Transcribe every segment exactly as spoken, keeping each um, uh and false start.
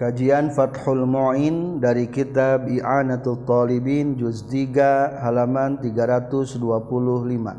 Kajian Fathul Mu'in dari kitab I'anatul Talibin juz tiga halaman tiga ratus dua puluh lima.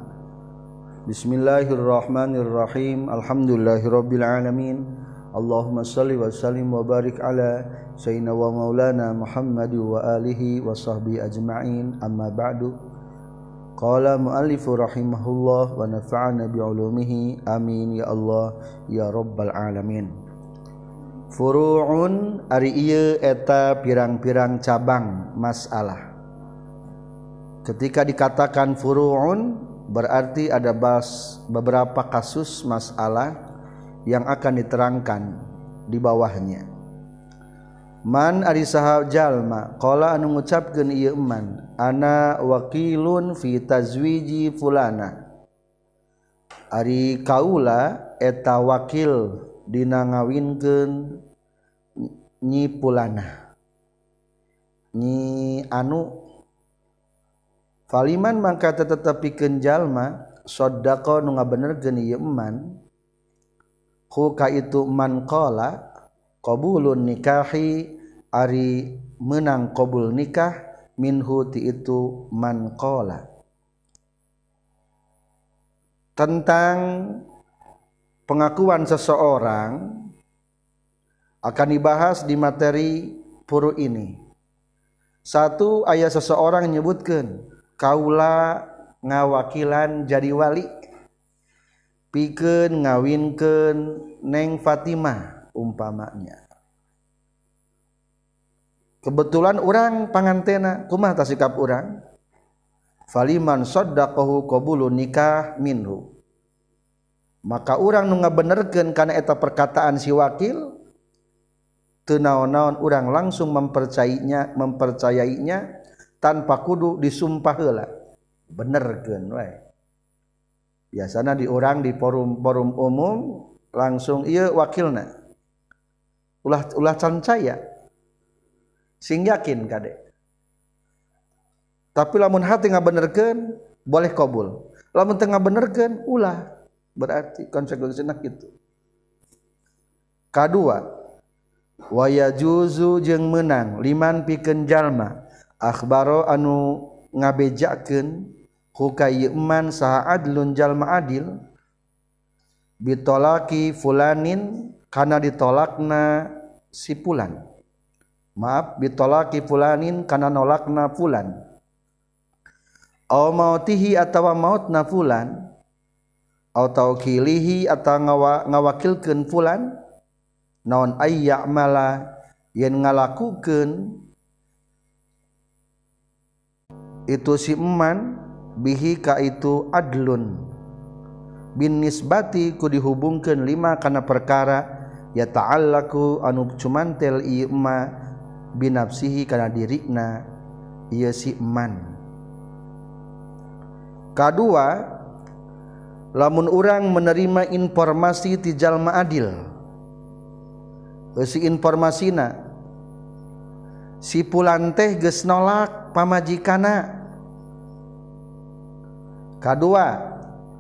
Bismillahirrahmanirrahim. Alhamdulillahirabbil alamin. Allahumma shalli wa sallim wa barik ala sayyidina wa maulana Muhammad wa alihi wa sahbihi ajma'in. Amma ba'du. Qala muallifu rahimahullah wa nafa'ana bi ulumihi. Amin ya Allah ya rabbal alamin. Furu'un ari ieu eta pirang-pirang cabang masalah. Ketika dikatakan furu'un berarti ada bas, beberapa kasus masalah yang akan diterangkan di bawahnya. Man ari saha jalma qala anu ngucapkeun ieu man ana wakilun fi tazwiji fulana. Ari kaula eta wakil dina ngawinkeun nyi pulana nyi anu faliman mangka tetepikeun jalma sodaqo nu ngabenerkeun ieu eman hu ka itu man qala qabulun nikahi ari meunang qabul nikah minhu ti itu man qala. Tentang pengakuan seseorang akan dibahas di materi furu ini. Satu, aya seseorang menyebutkan kaula ngawakilan jadi wali pikeun ngawinkeun Neng Fatimah umpamanya. Kebetulan orang pangantena, kumaha tah sikap urang? Faliman saddaqahu qabulun nikah minhu. Maka urang nu ngabenerkeun kana eta perkataan si wakil teu naon-naon urang langsung mempercayainya mempercayainya tanpa kudu disumpah heula. Benerkeun wae. Biasana di urang di forum-forum umum langsung ieu wakilna. Ulah ulah can caya. Sing yakin kade. Tapi lamun hati ngabenerkeun boleh qabul. Lamun teu ngabenerkeun ulah. Berarti konsekuensinya gitu. Kadua, wa yajuzu jeung meunang liman pikeun jalma akhbaro anu ngabejakeun huka ieu man saha adlun jalma adil bitolaki fulanin kana ditolakna si fulan. Maaf, bitolaki fulanin kana nolakna fulan. Aw mautihi atawa mautna fulan. Au taukilihi atau ngawa, ngawakilkeun fulan naon ay ya'mala yen ngalakukeun itu si eman bihi ka itu adlun bin nisbati ku dihubungkeun lima kana perkara ya ta'allaku anu cumantel ieu ma binafsihi kana dirina ieu si eman. Kadua, lamun urang menerima informasi ti jalma adil si informasina si pulan teh geus nolak pamajikana. Kadua,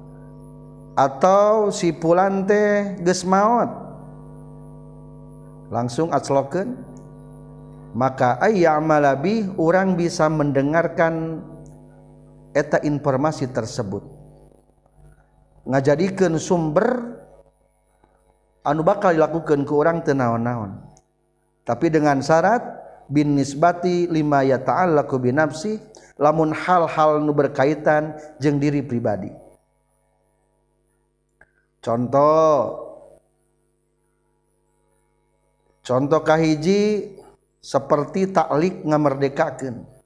atau si pulan teh geus maot langsung aclokeun maka ayya'mala bih urang bisa mendengarkan eta informasi tersebut ngajadikeun sumber anu bakal dilakukeun ku urang teu naon-naon tapi dengan syarat bin nisbati lima ya ta'allaqu bi nafsi lamun hal-hal nu berkaitan jeung diri pribadi. Contoh contoh kahiji seperti taklik ngamerdekakeun.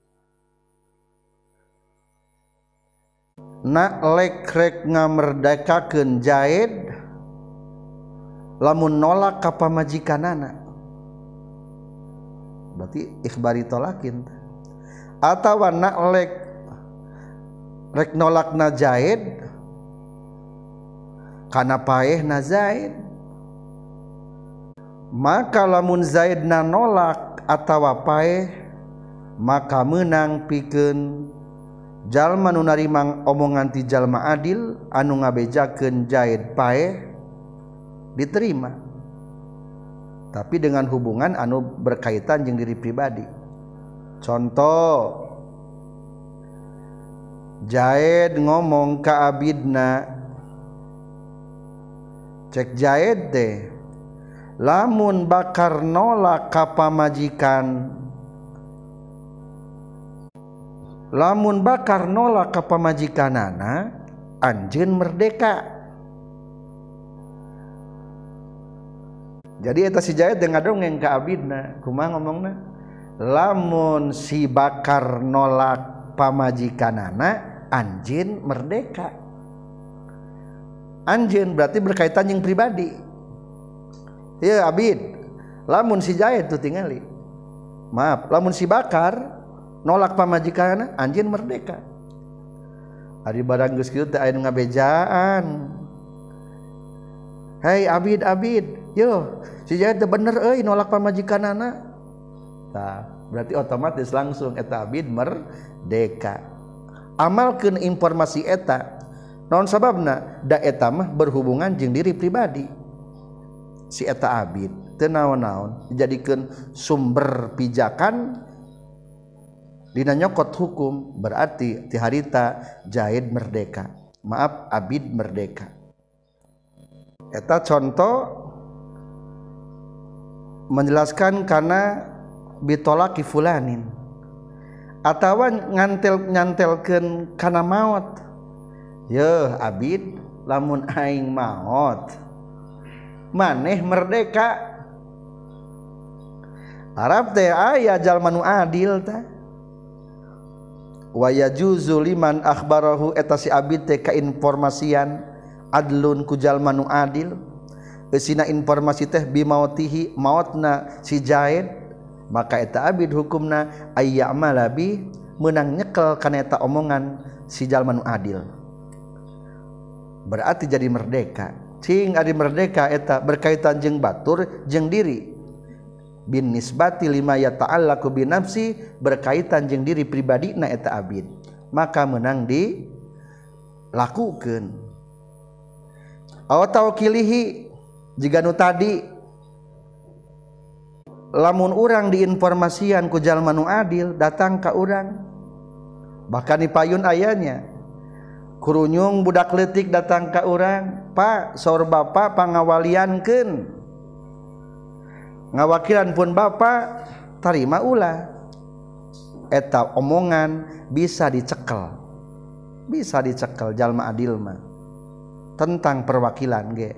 Nak lek rek ngamerdekakeun Zaid lamun nolak ka pamajikanana berarti ikhbari tolakin. Atawa nak lek rek nolakna Zaid kana paehna Zaid maka lamun Zaidna nolak atawa paeh maka meunang pikeun jalma nu narima omongan ti jalma adil anu ngabejakeun Zaid paeh diterima. tapi dengan hubungan anu berkaitan jeung diri pribadi. Contoh, Jaid ngomong ka abidna, cek Jaid teh, lamun bakar nolak ka pamajikan, lamun bakar nolak ka pamajikanana, anjeun merdeka. Jadi eta si Jaid dengan dongeng ka abidna, kumaha ngomongna? Lamun si bakar nolak pamajikanana, anjeun merdeka. Anjeun berarti berkaitan yang pribadi. Ya abid, lamun si Jaid tuh tingali. Maaf, lamun si bakar nolak pamajikanana, anjeun merdeka. Ari barang geus kieu teh aya nu ngabejaan. Hei abid abid, yo si Jaid teh bener euy nolak pamajikanana. Tah, berarti otomatis langsung eta abid merdeka. Amalkeun informasi eta. Naon sababna? Da eta mah berhubungan jeung diri pribadi. Si eta abid teu naon-naon dijadikeun sumber pijakan dina nyokot hukum, berarti ti harita Jaid merdeka. Maaf, abid merdeka. Eta contoh menjelaskan karena bitolaki fulanin atawa ngantel nyantelkeun kana maot. Yeuh abid, lamun aing maot maneh merdeka. Arab teh aya jalma nu adil tah. Wa yajuzu liman akhbarahu, eta si abid teh kainformasian adlun ku jalma nu adil. Eusina informasi teh bimautihi, mautna si Jaid, maka eta abid hukumna ayya'mala bi, meunang nyekel kana eta omongan si jalma nu adil. Berarti jadi merdeka. Cing ari merdeka eta berkaitan jeung batur jeung diri. Bin nisbati lima yata'allaqu bi nafsi, berkaitan jeung diri pribadina eta abid. Maka meunang dilakukeun. Aw tawkilihi, jiga nu tadi lamun urang diinformasian ku jalma nu adil datang ka urang, bahkan dipayun ayanya kurunyung budak leutik datang ka urang, Pak saur bapak pangawaliankeun, ngawakilan pun bapak tarima ulah. Eta omongan bisa dicekel, bisa dicekel jalma adil mah tentang perwakilan ge.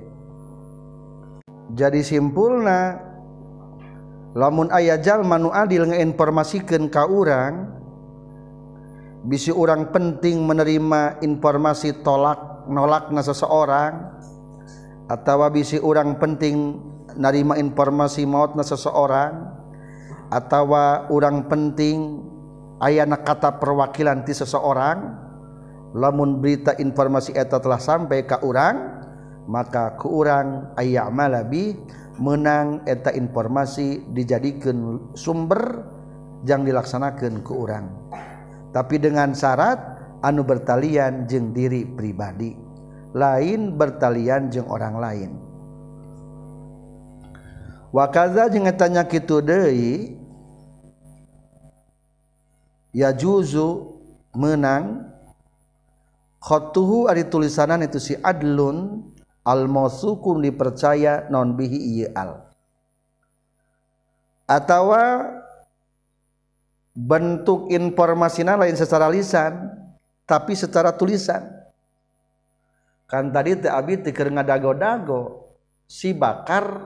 Jadi simpulna lamun aya jalma nu adil ngeinformasikeun ka urang, bisi urang penting menerima informasi tolak nolakna seseorang, atawa bisi urang penting narima informasi mautna seseorang, atawa urang penting ayana kata perwakilan ti seseorang. Lamun berita informasi eta telah sampai ka urang, maka ku urang ayya'mala bi, menang eta informasi dijadikeun sumber jang dilaksanakeun ku urang, tapi dengan syarat anu bertalian jeung diri pribadi, lain bertalian jeung orang lain. Wa kaza jeung eta nya kitu deui, ya juzu menang khatuhu ari tulisanan itu si adlun al mausukum dipercaya non bihi ieu al, atawa bentuk informasina lain secara lisan tapi secara tulisan. Kan tadi teh abdi teh keur ngadago-dago si bakar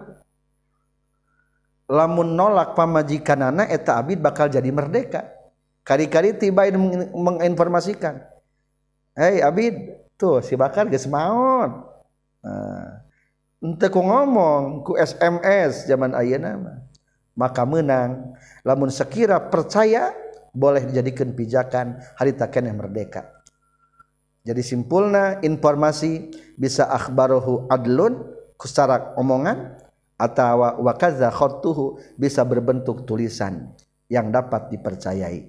lamun nolak pamajikanana eta abdi bakal jadi merdeka. Kari-kari tiba menginformasikan, hei abid tuh si bakar geus maot. Nah, ente ku ngomong ku S M S zaman ayeuna mah, maka menang lamun sekira percaya boleh dijadikan pijakan harita keneh merdeka. Jadi simpulna informasi bisa akhbaruhu adlun ku secara omongan, atawa wa kadza khattuhu bisa berbentuk tulisan yang dapat dipercayai.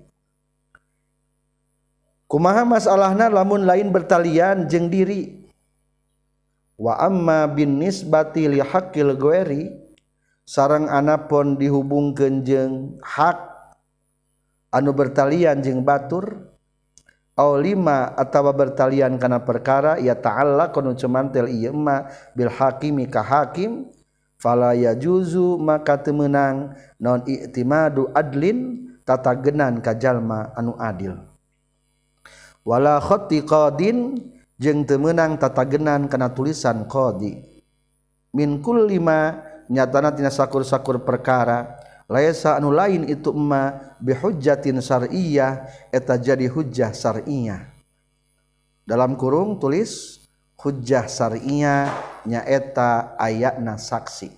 Kumaha masalahna lamun lain bertalian jeung diri. Wa amma bin nisbati li haqqil ghairi, sareng anapun dihubungkeun jeung hak anu bertalian jeung batur aw lima atawa bertalian kana perkara ya ta'alla kanu cumantel ieu ma bil hakimi ka hakim fala yajuzu maka teu meunang naon i'timadu adlin tatagenan ka jalma anu adil wala khatti qadin jeung teu meunang tatagenan kana tulisan qadi min kulli ma nyatana tina sakur-sakur perkara laisa anu lain itu emma bihujjatin syar'iyyah eta jadi hujjah syar'iyyah dalam kurung tulis hujjah syar'iyyah nya eta ayatna saksi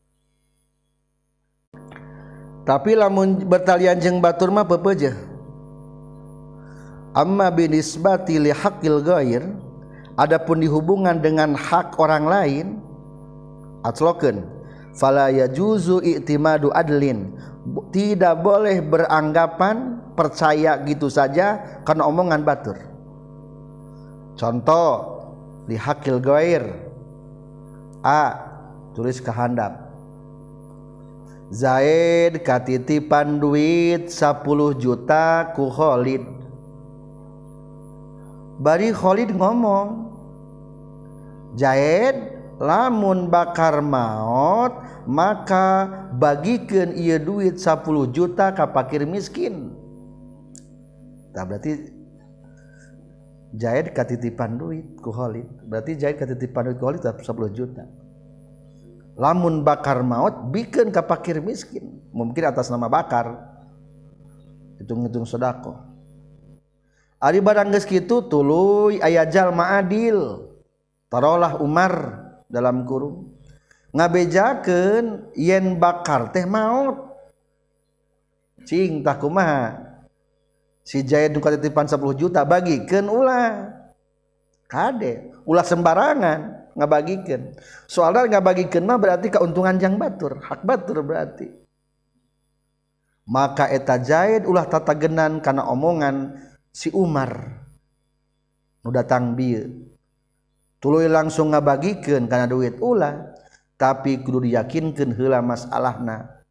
tapi lamun bertalian jeung batur mah pepeujeuh amma binisbati li haqqil ghair adapun dihubungan dengan hak orang lain atlokeun fala yajuzu i'timadu adlin tidak boleh beranggapan percaya gitu saja karena omongan batur contoh li hakil ghair a tulis ke handap Zaid katitipan duit sepuluh juta ku Khalid bari Khalid ngomong Zaid lamun bakar maut maka bagikeun ieu duit sepuluh juta ka fakir miskin. Tah berarti Zaid katitipan duit ku Khalid. Berarti Zaid katitipan duit ku Khalid sepuluh juta. Lamun bakar maut bikeun ka fakir miskin. Mungkin atas nama bakar. Hitung-hitung sedekah. Ari barang geus kitu tuluy aya jalma adil. Tarolah Umar dalam kurung ngabejakeun yen bakar teh maut cing tah kumaha si Zaid nu katitipan sepuluh juta bagikeun ulah kade ulah sembarangan ngabagikeun soalna ngabagikeun mah berarti keuntungan jang batur hak batur berarti maka eta Zaid ulah tatagenan kana omongan si Umar nu datang bieu tuluy langsung ngabagikeun kana duit ulah tapi kudu diyakinkeun heula masalahna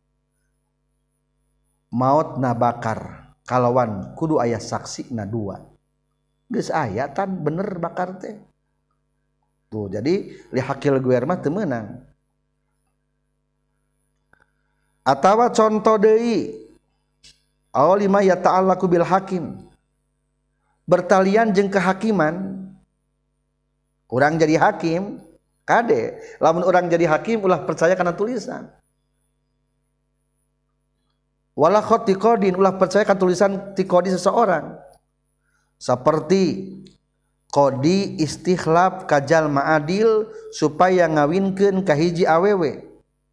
mautna bakar kalawan kudu aya saksina dua geus aya tan bener bakar teh tuh jadi li hakil guer mah teu meunang atawa contoh deui aw lima yata'allaqu bil hakim bertalian jeung kehakiman orang jadi hakim kade lamun orang jadi hakim ulah percaya kana tulisan wala khatti qadin ulah percaya kana tulisan ti qadi seseorang seperti qadi istikhlaf ka jalma adil supaya ngawinkeun ka hiji awewe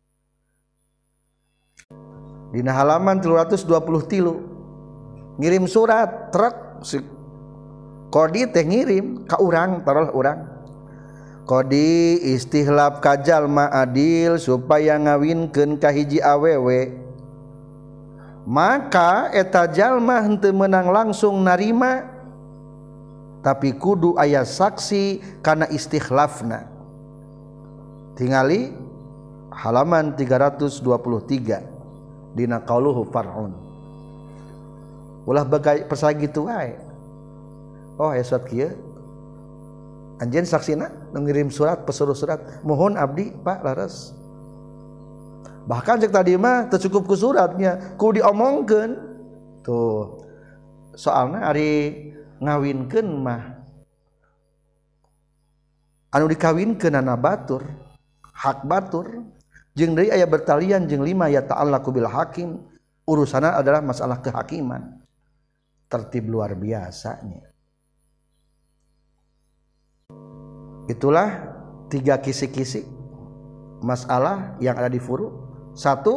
dina halaman tilu ratus dua puluh tilu ngirim surat truk si qadi teh ngirim ka urang taruh urang Qadi istikhlaf ka jalma adil supaya ngawinkeun ka hiji awewe maka eta jalma henteu meunang langsung narima tapi kudu aya saksi kana istikhlafna tingali halaman tiga ratus dua puluh tiga dina qauluhu far'un ulah bagay persa kitu wae oh aya surat kieu anjeun saksina ngirim surat pesuruh surat mohon abdi Pak laras bahkan cek tadi mah teu cukup ku suratnya ku diomongkeun tuh soalna ari ngawinkeun mah anu dikawinkeun na batur hak batur jeung deui aya bertalian jeung lima ya ta'allaqu bil hakim urusanna adalah masalah kehakiman tertib luar biasanya. Itulah tiga kisi-kisi masalah yang ada di furu. Satu,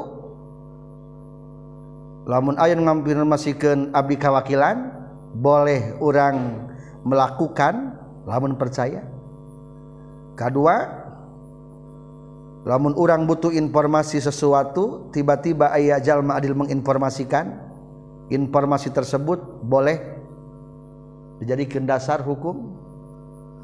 lamun aya ngampirmasikeun abdi kawakilan boleh orang melakukan lamun percaya. Kedua, lamun orang butuh informasi sesuatu tiba-tiba aya jalma adil menginformasikan informasi tersebut boleh dijadikan dasar hukum.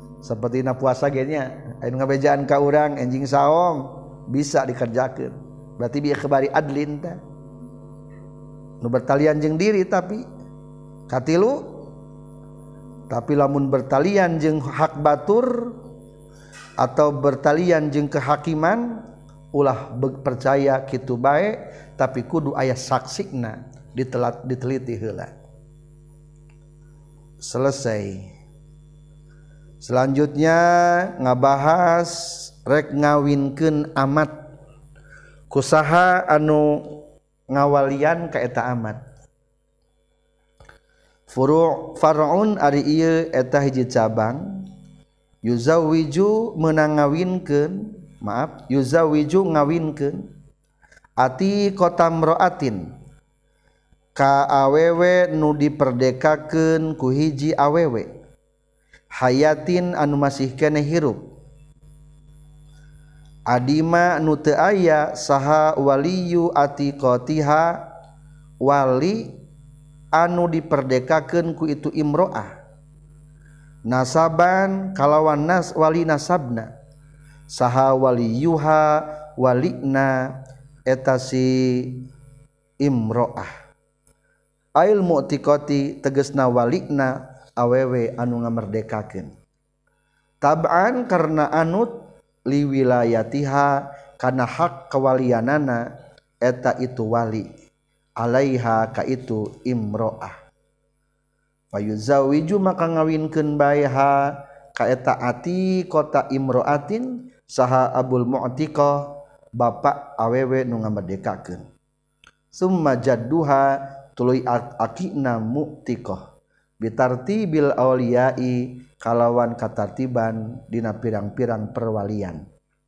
Seperti na puasa genya anu ngabejaan ka urang enjing saong bisa dikerjakeun berarti bieu kebari adlin teh nu bertalian jeung diri tapi katilu tapi lamun bertalian jeung hak batur atau bertalian jeung kehakiman ulah percaya kitu bae tapi kudu aya saksina ditelat diteliti heula. Selesai. Selanjutnya ngabahas rek ngawinkeun amat kusaha anu ngawalian ka eta amat. Furu' far'un ari ieu eta hiji cabang yuzawwiju meunang ngawinkeun maaf yuzawwiju ngawinkeun ati kota mroatin ka awewe nu diperdekakeun ku hiji awewe hayatin anu masih keneh hirup adima nu teu aya saha waliyu atiqatiha wali anu diperdekakeun ku itu imro'ah nasaban kalawan nas wali nasabna saha waliyuha walina eta si imro'ah ail mu'tiqati tegasna walina awewe anu ngamerdekakeun tab'an karna anut liwilayatiha kana hak kawalianana eta itu wali alaiha ka itu imro'ah fayuzawiju maka ngawinkeun bae ha ka eta ati kota imro'atin saha abul mu'tiqah bapak awewe nu ngamerdekakeun summa jadduha tuluy akina mu'tiqah bitartibil auliyai kalawan katartiban dina pirang-pirang perwalian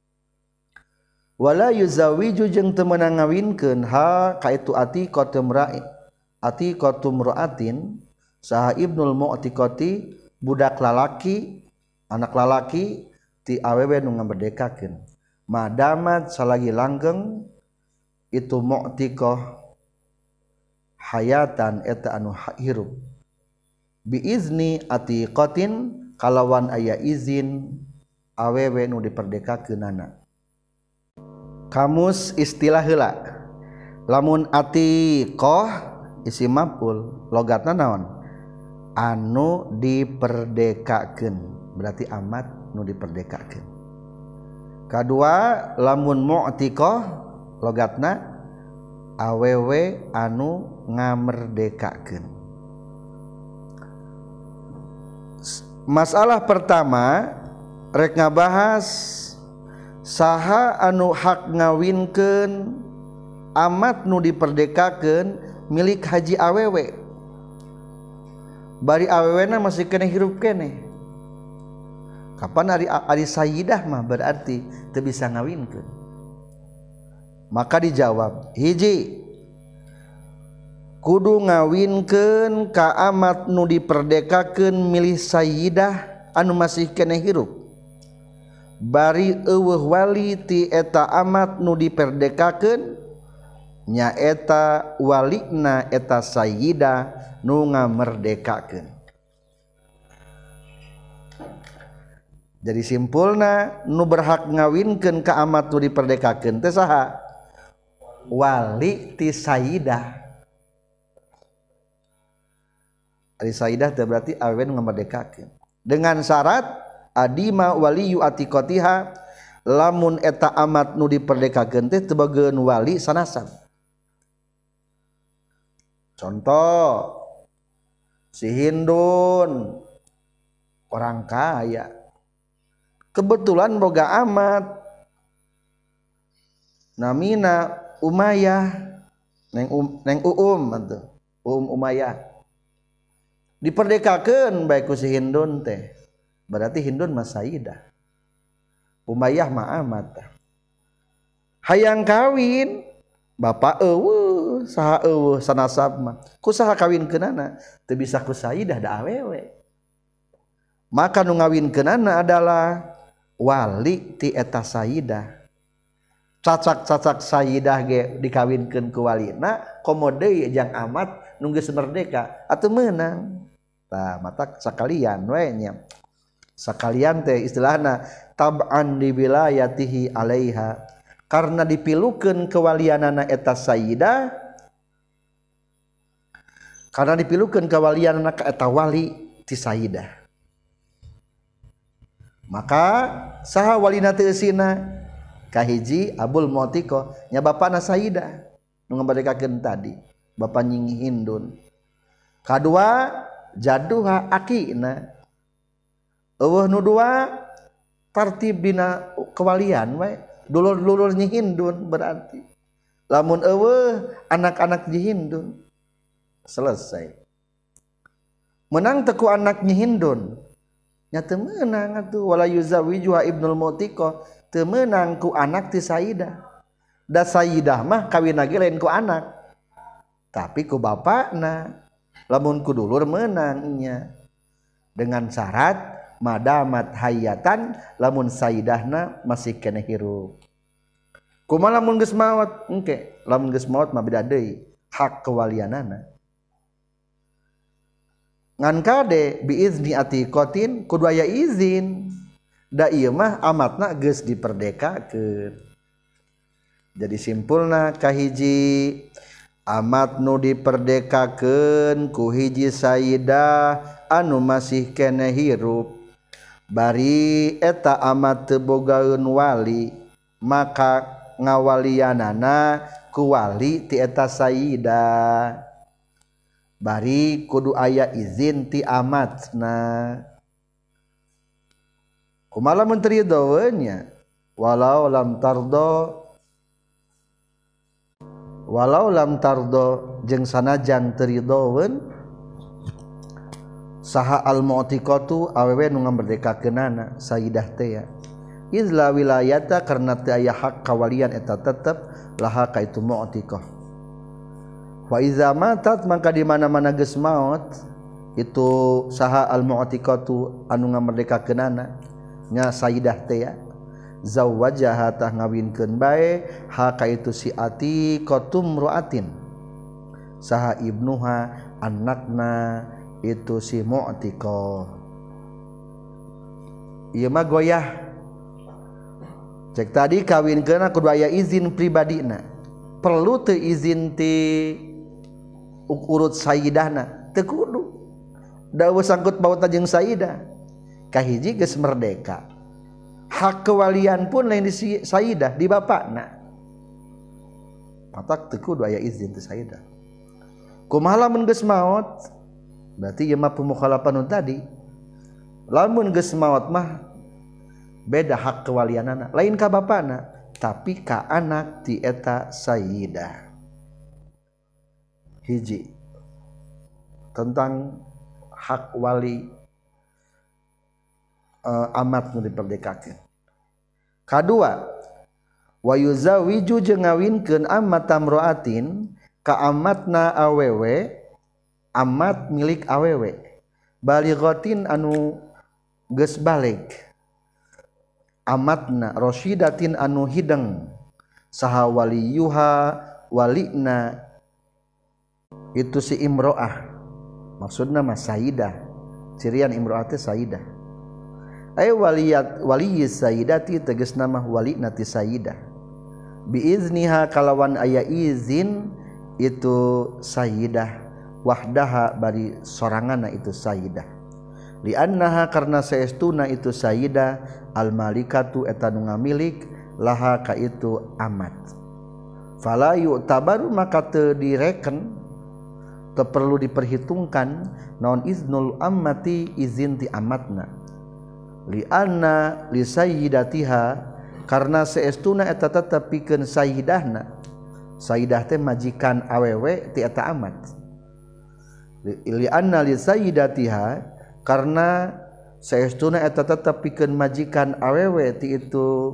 wala yuzawiju jeung teu meunang ngawinkeun ha ka itu ati qatumra'i ati qatumra'atin saha ibnul mu'tiqati budak lalaki anak lalaki ti awewe nu ngamerdekakeun madamat salagi langgeng itu mu'tiqah hayatan eta anu hirup biizni atiqatin kalawan aya izin awewe nu diperdekakeunana. Kamus istilah heula lamun atiqah isim maf'ul logatna naon anu diperdekakeun berarti amat nu diperdekakeun. Kadua lamun mu'tiqah logatna awewe anu ngamerdekakeun. Masalah pertama rek ngabahas saha anu hak ngawinkeun amat nu diperdekakeun milik haji awewe bari awewena masih kena hirup keneh kapan ari ari sayyidah mah berarti teu bisa ngawinkeun maka dijawab hiji kudu ngawinkeun ka amat nu diperdekakeun milih sayyidah anu masih keneh hirup bari eueuh wali ti eta amat nu diperdekakeun nya eta walina eta sayyidah nu ngamerdekakeun. Jadi simpulna nu berhak ngawinkeun ka amat nu diperdekakeun teh saha? Wali ti sayyidah. Ari sayyidah teh berarti awewe nu ngamerdekakeun. Dengan syarat adima waliyu atiqatiha lamun eta amat nu diperdekakeun teh teu bageun wali sanasab. Contoh si Hindun orang kaya kebetulan boga amat namina Umayyah neng um, neng Uum atuh Um Umayyah diperdekakeun bae ku si Hindun teh berarti Hindun mah sayyidah Umayyah mah amat hayang kawin bapak eueuh saha eueuh sanasab mah ku saha kawinkeunana teu bisa ku sayyidah da awewe maka nu ngawinkeunana adalah wali ti eta sayyidah cacak-cacak sayyidah ge dikawinkeun ku walina komo deui jang amat nu geus merdeka atuh meunang tah mata sakalian we nya sakalian teh istilahna tab'an di wilayatihi alaiha karena dipilukeun kewalianana eta sayyidah, karena dipilukeun kewalianana ka eta wali ti sayyidah. Maka saha walina teu eusina? Kahiji Abul Mu'tiqah nya bapana sayyidah nu ngabadekakeun tadi, bapa Nying Hindun. Kadua Jaduha akina. Eueuh nu dua tartib dina kewalian we, dulur-dulur Nyi Hindun berarti. Lamun eueuh anak-anak Nyi Hindun selesai. Menang teu ku anak Nyi Hindun nya teu meunang atuh, wala yuzawijuha Ibnul Mu'tiqah teu meunang ku anak ti sayyidah. Da sayyidah mah kawinna ge lain ku anak tapi ku bapana. Lamun ku dulur meunang nya dengan syarat madamat hayatan, lamun sayyidahna masih keneh hirup. Kumaha lamun geus maot? Engke, lamun geus maot mah beda deui hak kewalianana. Ngan kade biizni atiqatin kudu aya izin. Da ieu mah amatna geus diperdekakeun. Jadi simpulna kahiji amat nu diperdekakeun ku hiji sayyidah anu masih keneh hirup, bari eta amat teu bogaeun wali, maka ngawalianana ku wali ti eta sayyidah. Bari kudu aya izin ti amatna. Kumaha mun teu ridho nya? Walau lam tardo, walau lam tardo jeung sanajan teu ridhoeun saha al mu'tiqatu awewe nu ngamberdekakeunana sayyidah teh ya. Izla wilayata karna teu aya hak kawalian eta tetep laha ka itu mu'tiqah. Wa iza matat maka di mana-mana geus maot itu saha al mu'tiqatu anu ngamberdekakeunana nya sayyidah teh ya. Zawwajaha tah ngawinkeun bae ha ka itu si atiqatum ru'atin saha ibnuha anakna itu si mu'tiqah. Ieu mah goyah. Cek tadi kawinkeun kudu aya izin pribadina. Perlu teu izin ti urut sayyidahna? Teu kudu. Da eueuh sangkut pautna jeung sayyidah. Kahiji geus merdeka. Hak kewalian pun lain di sayyidah di bapakna. Patak teu kudu aya izin ti sayyidah. Kumaha lamun geus maot? Berarti ieu mah pemukhalafan tadi. Lamun geus maot mah beda hak kewalianana, lain ka bapana tapi ka anak ti eta sayyidah. Hiji tentang hak wali uh, amat nu diperdekakeun. Kadua wa yuzawiju jeung ngawinkeun amat tamroatin ka amatna awewe, amat milik awewe balighatin anu geus balig, amatna rasyidatin anu hideng saha waliyuha walina itu si imro'ah, maksudna mah sayyidah, cirian imro'ah teh sayyidah. Ay waliyat waliyis sayyidati tegasna mah walina ti sayyidah. Biizniha kalawan aya izin itu sayyidah wahdaha bari soranganna itu sayyidah. Li annaha karna saestuna itu sayyidah al malikatu eta nu ngamilik laha ka itu amat. Fala yu'tabaru maka teu direken, teu perlu diperhitungkan naon iznul ammati izin ti amatna. Li anna li sayyidatiha karna saestuna eta tetep pikeun sayyidahna. Sayyidah teh majikan awewe ti eta amat. Li anna li sayyidatiha karena saestuna eta tetep pikeun majikan awewe ti itu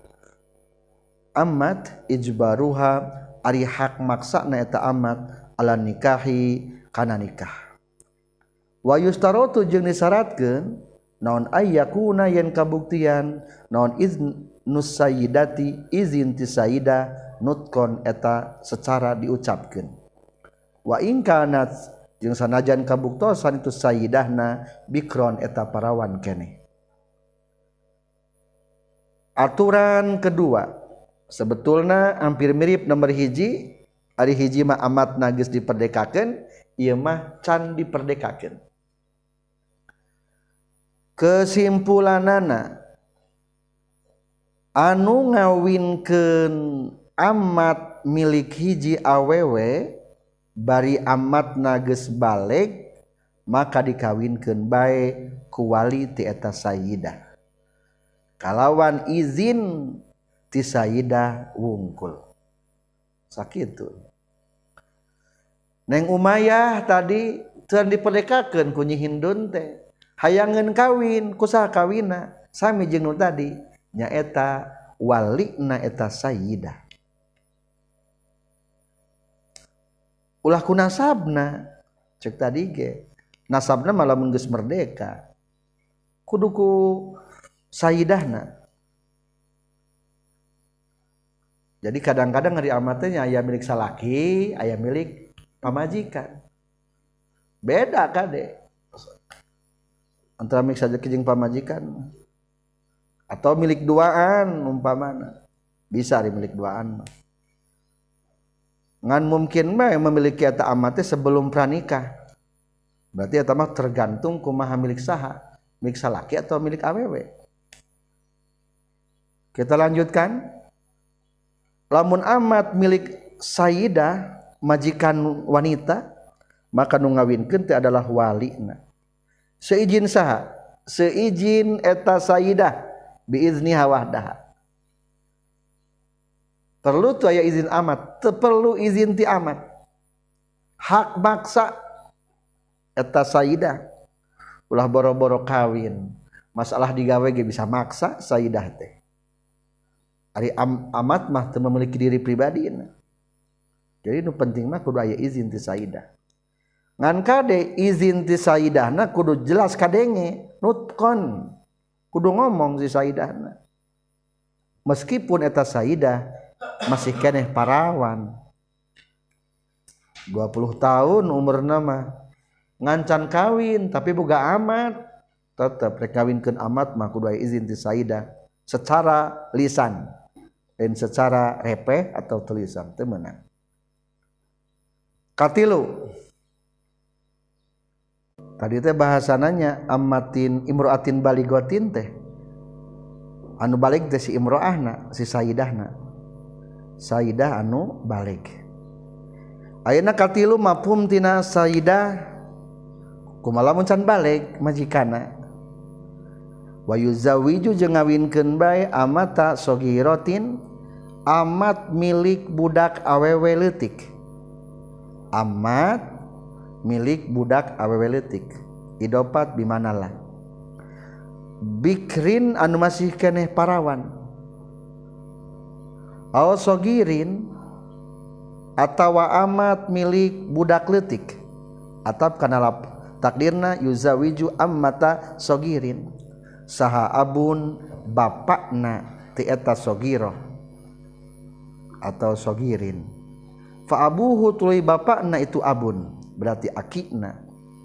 amat ijbaruha ari hak maksana eta amat ala nikahi kana nikah. Wa yustaratu jeung disyaratkeun naon ayyakuna yen kabuktian naon iznus sayyidati izin ti sayyidah nutkon eta secara diucapkeun. Wa in kanat jeung sanajan kabuktosan itu sayyidahna bikron eta parawan keneh. Aturan kedua sebetulna hampir mirip nomor hiji. Ari hiji mah amatna geus diperdekakeun, ieu mah can diperdekakeun. Kesimpulanana anu ngawinkeun amat milik hiji awewe bari amatna geus baleg maka dikawinkeun bae ku wali ti eta sayyidah. Kalawan izin ti sayyidah wungkul. Sakitu. Neng Umayyah tadi teu diperdekakeun ku Nyi Hindun teh. Hayangeun kawin, kusaha kawinna? Sami jeung nu tadi, nyaeta walina eta sayyidah. Ulah ku nasabna, cek tadi ge. Nasabna malah mun geus merdeka. Kudu ku sayyidahna. Jadi kadang-kadang ngari amatnya aya milik salaki, aya milik pamajikan. Beda kade. Antara milik sajaki jeung pamajikan atau milik duaan umpamana. Bisa di milik duaan mah. Ngan mungkin mah memiliki eta amatnya sebelum pranikah. Berarti eta mah tergantung kumaha milik saha, milik salaki atau milik awewe. Kita lanjutkan. Lamun amat milik sayyidah majikan wanita maka nu ngawinkeun teh adalah walina. Seizin saha? Seizin eta sayyidah biizniha wahdaha. Perlu tu aya izin amat, teu perlu izin ti amat. Hak maksa eta sayyidah ulah boro-boro kawin. Masalah digawe ge bisa maksa sayyidah teh. Ari am, amat mah teu memiliki diri pribadina. Jadi nu penting mah kudu aya izin ti sayyidah. Ngan kade izin ti sayyidahna kudu jelas kadenge, nutkon. Kudu ngomong si sayyidahna. Meskipun eta sayyidah masih keneh parawan. dua puluh tahun umurna mah ngancan kawin tapi boga amat, tetep rek kawinkeun amat mah kudu aya izin ti sayyidah secara lisan dan secara repeh atau tulisan teu meunang. Katilu tadi teh bahasananya ammatin imroatin baligotin teh anu balik teh si imroahna si sayyidahna sayyidah anu balik. Ayeuna katilu mafhum tina sayyidah kumaha lamun can balik majikana wa yuzawiju jeung ngawinkeun bae amata sogiratin amat milik budak awewe leutik. Amat milik budak awewe leutik idopat bimanalah bikrin anu masih keneh parawan aw sogirin atawa amat milik budak leutik atap kana takdirna yuzawiju ammata sogirin saha abun bapakna ti eta sogiro atau sogirin fa abuhu tuluy bapakna itu abun berarti akikna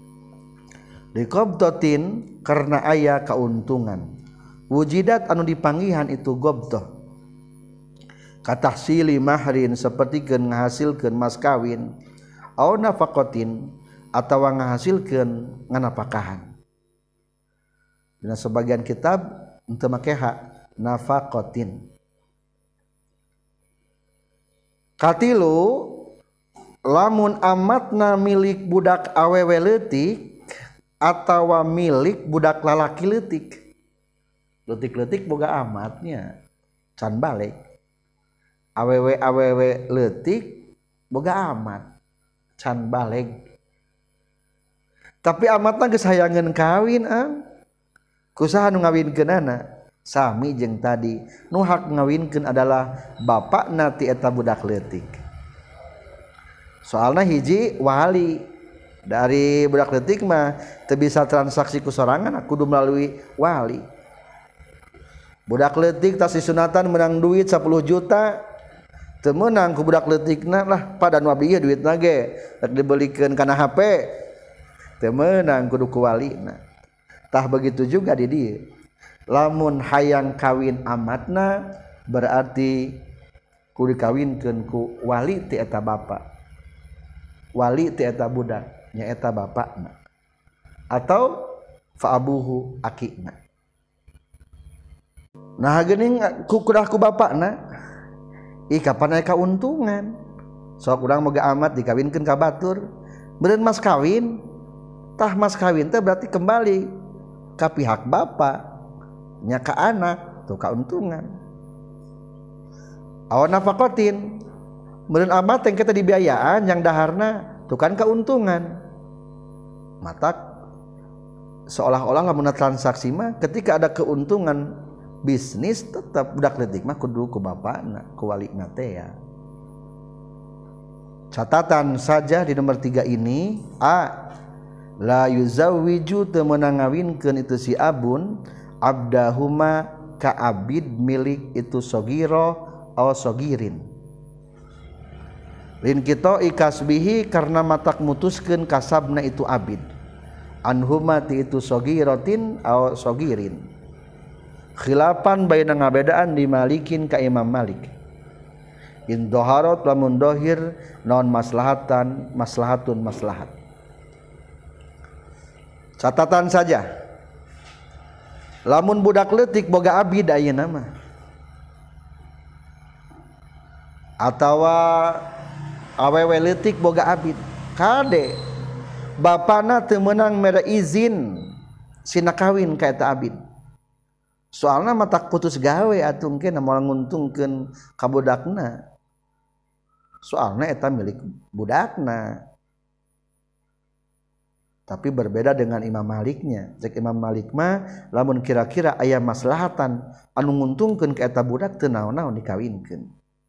liqabdatin karena aya kauntungan wujidat anu dipanggihan itu gobdoh katahsili mahrin sapertikeun ngahasilkeun mas kawin au nafaqatin atawa ngahasilkeun nganapakahan. Dina sebagian kitab henteu make hak nafaqatin. Katilu lamun amatna milik budak awewe leutik atawa milik budak lalaki leutik. Leutik-leutik boga amatnya can balik. Awewe-awewe leutik boga amat can balik. Tapi amatna geus hayangeun kawin am. Kusaha nu ngawinkeunana? Sami jeung tadi, nu hak ngawinkeun adalah bapakna ti eta budak leutik. Soalna hiji wali dari budak leutik mah teu bisa transaksi ku sorangan kudu melalui wali. Budak leutik tas disunatan menang duit sepuluh juta teu meunang ku budak leutikna lah pada nu abdi ieu duitna ge rek dibelikeun kana H P teu meunang kudu ku walina. Tah begitu juga di dieu. Lamun hayang kawin amatna berarti ku dikawinkeun ku wali ti eta bapa, wali ti eta budak nya eta bapakna, atau fa abuhu akina. Nah geuning ku kudah ku bapakna ih kapan aya kauntungan sok urang boga amat dikawinkeun ka batur beureun mas kawin tah mas kawin teh berarti kembali ka pihak bapa nya ka anak tuh kauntungan. Awan nafaqatin beureun amat yang kita dibiayaan yang daharna tuh kan kauntungan. Matak seolah-olah lamun transaksi mah ketika ada keuntungan bisnis tetap budak leutik mah kudu ku bapana ku walina teh ya. Catatan saja di nomor tiga ini, a la yuzawwiju teu meunang ngawinkeun itu si abun abdahuma ka abid milik itu sogiro aw sogirin lin kita ikasbihi karena matak mutuskeun kasabna itu abid anhuma ti itu sogirotin aw sogirin khilafan baina ngabedaan di Malikin ka Imam Malik in doharat lamun dohir non maslahatan maslahatun maslahat. Catatan saja lamun budak leutik boga abid ayeuna mah atawa awewe leutik boga abid kade bapana teu meunang mere izin sina kawin ka eta abid. Soalna matak putus gawe atuh engke moal nguntungkeun ka budakna. Soalna eta milik budakna. Tapi berbeda dengan Imam Maliknya. Cek Imam Malik mah lamun kira-kira aya maslahatan anu nguntungkeun ka eta budak teu naon-naon dikawinkeun.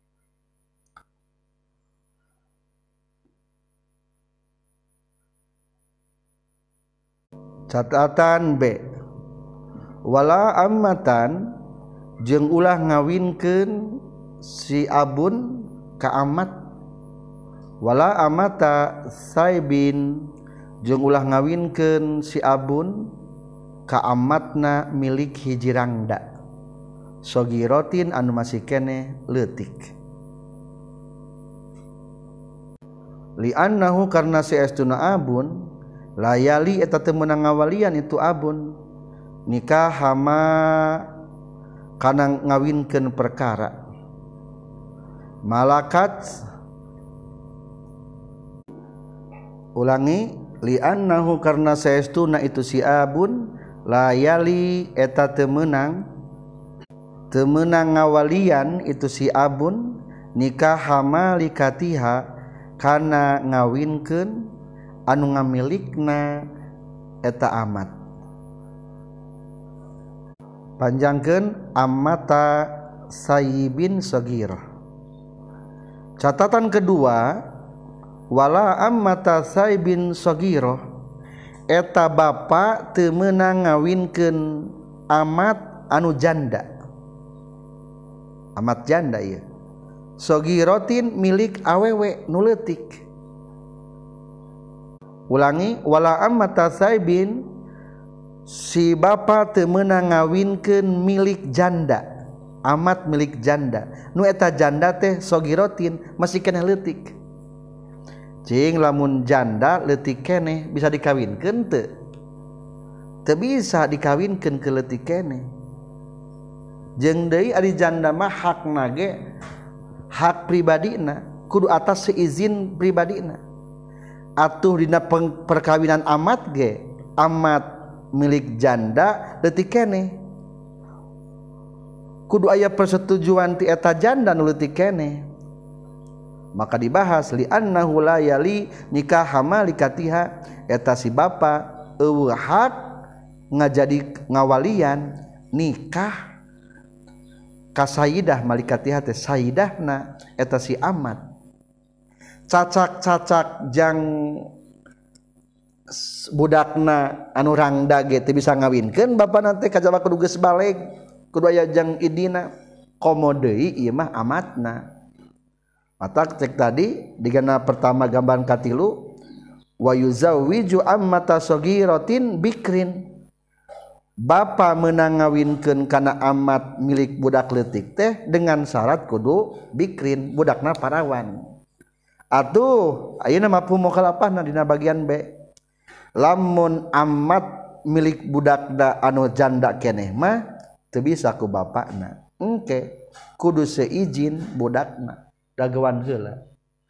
Catatan B, wala ammatan jeung ulah ngawinkeun si abun ka amat, wala amata saibin jeung ulah ngawinkeun si abun ka amatna milik hiji rangda sogirotin anu masih keneh leutik li annahu karna saestuna abun layali eta teu meunang ngawalian itu abun nikah hama kana ngawinkeun perkara malakat ulangi li annahu karna saestuna itu si abun layali eta teu meunang teu meunang ngawalian itu si abun nikah hamalikatiha kana ngawinkeun anu ngamilikna eta amat. Panjangkeun amata sayyibin sagirah. Catatan kedua, wala ammata sayyibin sagirah eta bapa teu meunang ngawinkeun amat anu janda. Amat janda ieu. Sagiratin milik awewe nu leutik. Ulangi, wala ammata saibin si bapa teu meunang ngawinkeun milik janda, amat milik janda. Nu eta janda teh sogirotin masih keneh leutik. Cing lamun janda leutik keneh bisa dikawinkeun teu? Teu bisa dikawinkeun ke leutik keneh. Jeung deui ari janda mah hakna ge hak pribadina, kudu atas seizin pribadina. Atuh dina perkawinan amat ge amat milik janda leutik keneh kudu aya persetujuan ti eta janda nu leutik keneh maka dibahas li annahu la yali nikah hamalikatiha eta si bapa eueuh hak ngajadi ngawalian nikah ka sayyidah malikatiha teh sayyidahna eta si amat cacak-cacak jang budakna anu rangda ge teu bisa ngawinkeun bapana teh kajaba kudu geus baleg kudu aya jang idina komo deui ieu mah amatna. Mata cek tadi digana pertama gambaran katilu wa yuzawwiju ammata sagiratin bikrin Bapa meunang ngawinkeun kana amat milik budak leutik teh dengan syarat kudu bikrin, budakna parawan. Atuh ayeuna mafhum mukhalafahna dina bagian B. Lamun amat milik budakna anu janda keneh mah teu bisa ku bapakna. Engke kudu seizin budakna dagewan heula.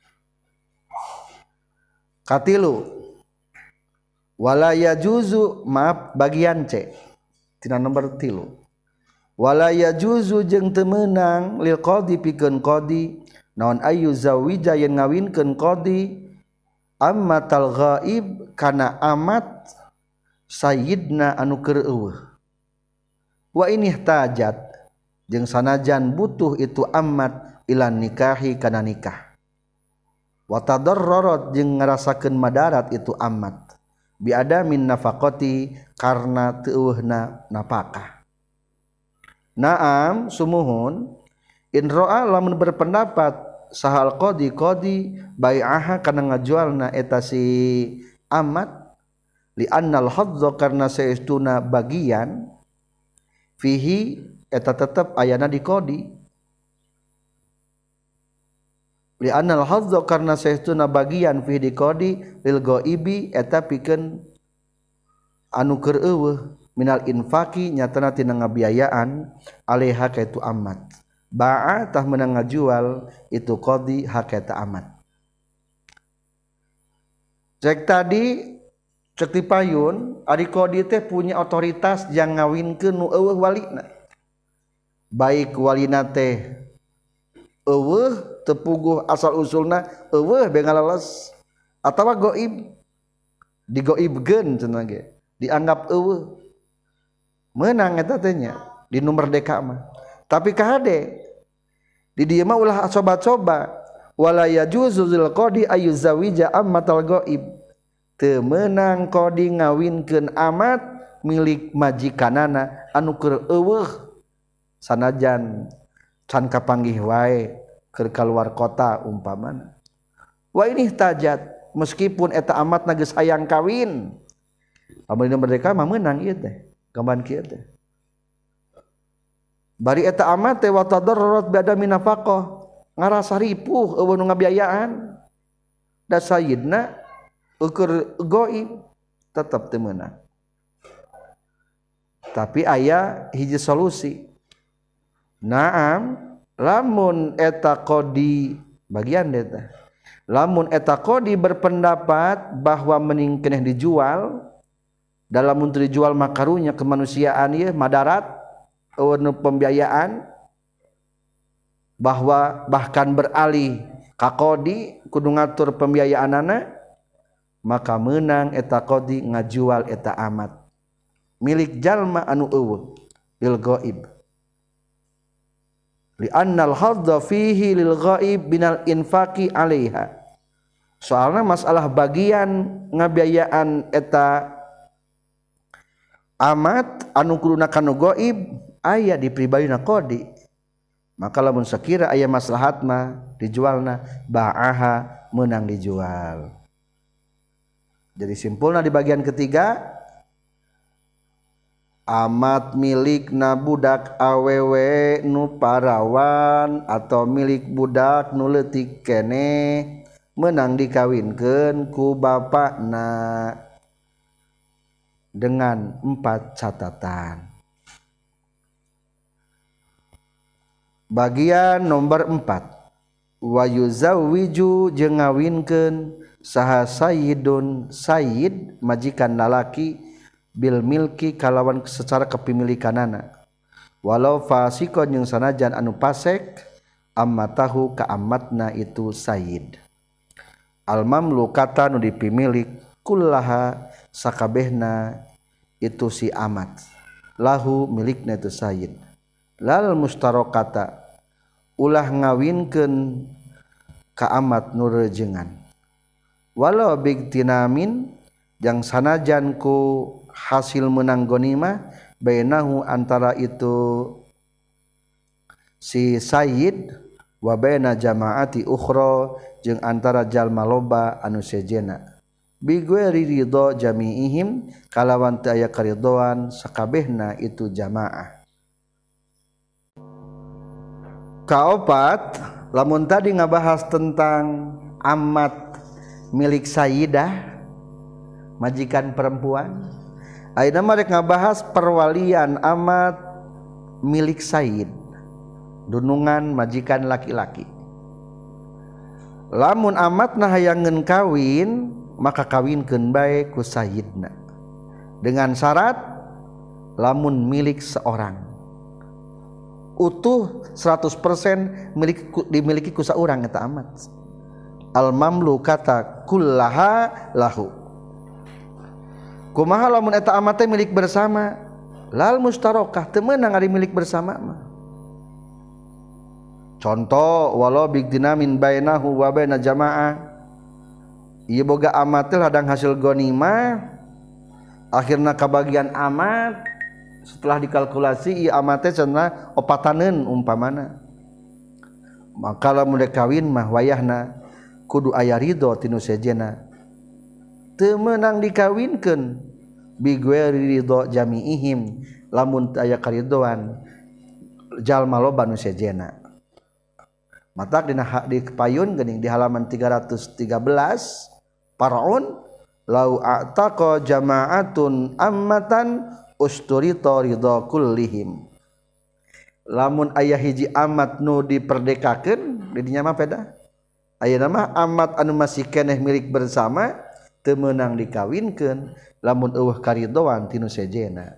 Katilu wala yajuzu maaf bagian C tina nomor tilu wala yajuzu jeung teu meunang lil qadi pikeun qadi naon ayu zawija yen ngawinkeun qadi ammatal ghaib kana amat sayyidna anu keur eueuh wa ini tajat jeung sanajan butuh itu amat ilan nikahi kana nikah wa tadarrarat jeung ngarasakeun madarat itu amat biada min nafaqati karna teueuhna napakah. Naam sumuhun in ra'a lamun berpendapat sahal qadi qadi bai'aha kana ngajualna eta si amat li annal hadza karna saestuna bagian fihi eta tetep ayana di qadi li annal hadza karna saestuna bagian fi di qadi lil ghaibi eta pikeun anu keur eueuh minal infaqi nyatana tina ngabiayaan alaiha ka itu amat ba'a tah meunang ngajual itu qadi hak eta amat. Cek tadi cek ti payun ari qadi teh punya otoritas jang ngawinkeun nu eueuh walina baik walina teh eueuh tepuguh asal usulna eueuh be ngaleles atawa goib digoibkeun cenah ge dianggap eueuh meunang eta teh nya di nu merdeka mah tapi kahade di dieu mah ulah coba-coba wala yajuzu zil qadi ayuzawija ammatal goib teu meunang qadi ngawinkeun amat milik majikanana anu keur eueuh sanajan can kapanggih wae keur kaluar kota umpamana wa ini tajat meskipun eta amatna geus hayang kawin lamun merdeka mah meunang ieu teh gamban kieu teh bari eta amat teh wa tadarrarat bada min nafaqah ngarasa ripuh eueuh nu ngabiayaan da sayyidna keur goib tetep teu meunang tapi aya hiji solusi. Naam lamun eta qadi bagian eta lamun eta qadi berpendapat bahwa mending keneh dijual dalam mun dijual makarunya kemanusiaan ieu madarat eueuh pembiayaan bahwa bahkan beralih ka qadi kudu ngatur pembiayaanana maka meunang eta qadi ngajual eta amat milik jalma anu eueuh lil ghaib li annal hadza fihi lil ghaib binal infaqi alaiha soalna masalah bagian ngabiayaan eta amat anu kuduna kanu ghaib aya di pribadina qadi maka lamun sakira aya maslahat mah dijualna ba'aha meunang dijual. Jadi simpulna di bagian ketiga amat milik na budak awewe nu parawan atau milik budak nu leutik keneh meunang dikawinkeun ku bapakna dengan empat catatan. Bagian nomor empat wa yuzawwiju jeung ngawinkeun saha sayyidun sayyid majikan lalaki bil milki kalawan secara kepemilikanana walau fasikon yang sanajan anu pasek amma tahu ka amatna itu sayyid al mamlukata nu dipimilik kullaha sakabehna itu si amat lahu milikna itu sayyid lal mustarokata ulah ngawinkeun ka amat nu rejengan walau bigtinamin jang sanajan ku hasil menang ghanimah bainahu antara itu si sayyid wa baina jamaati ukhra jeung antara jalma loba anu sejena bi ghairi ridho jami'ihim kalawan teu aya karidhoan sakabehna itu jamaah. Kaopat lamun tadi ngabahas tentang amat milik sayyidah majikan perempuan, ayeuna mah rek ngabahas perwalian amat milik sayyid dunungan majikan laki-laki. Lamun amatna hayangeun kawin maka kawinkeun bae ku sayyidna dengan syarat lamun milik seorang utuh seratus persen milik dimiliki ku saurang eta amat. Al mamlukata kullaha lahu. Kumaha lamun eta amat teh milik bersama? Lal mustarokah teu meunang ari milik bersama mah. Contoh walau bigdina min bainahu wa baina jamaah. Ieu boga amat teh ladang hasil ghanimah akhirna kabagian amat setelah dikalkulasi ieu amat teh cenah opataneun umpamana. Maka lamun kawin mah wayahna kudu aya ridho tinu sejena. Teu meunang dikawinkeun bi ghairi ridho jami'ihim lamun aya karidhoan jalma loba nu sejena. Matak dina di payun geuning di halaman tiga ratus tiga belas Faraun lau a'taqa jama'atun ammatan usturita ridha kullihim. Lamun aya hiji amat nu diperdekakeun di dinya mah peda. Ayeuna mah amat anu masih keneh milik bersama teu meunang dikawinkeun lamun eueuh karidhoan tinu sejena.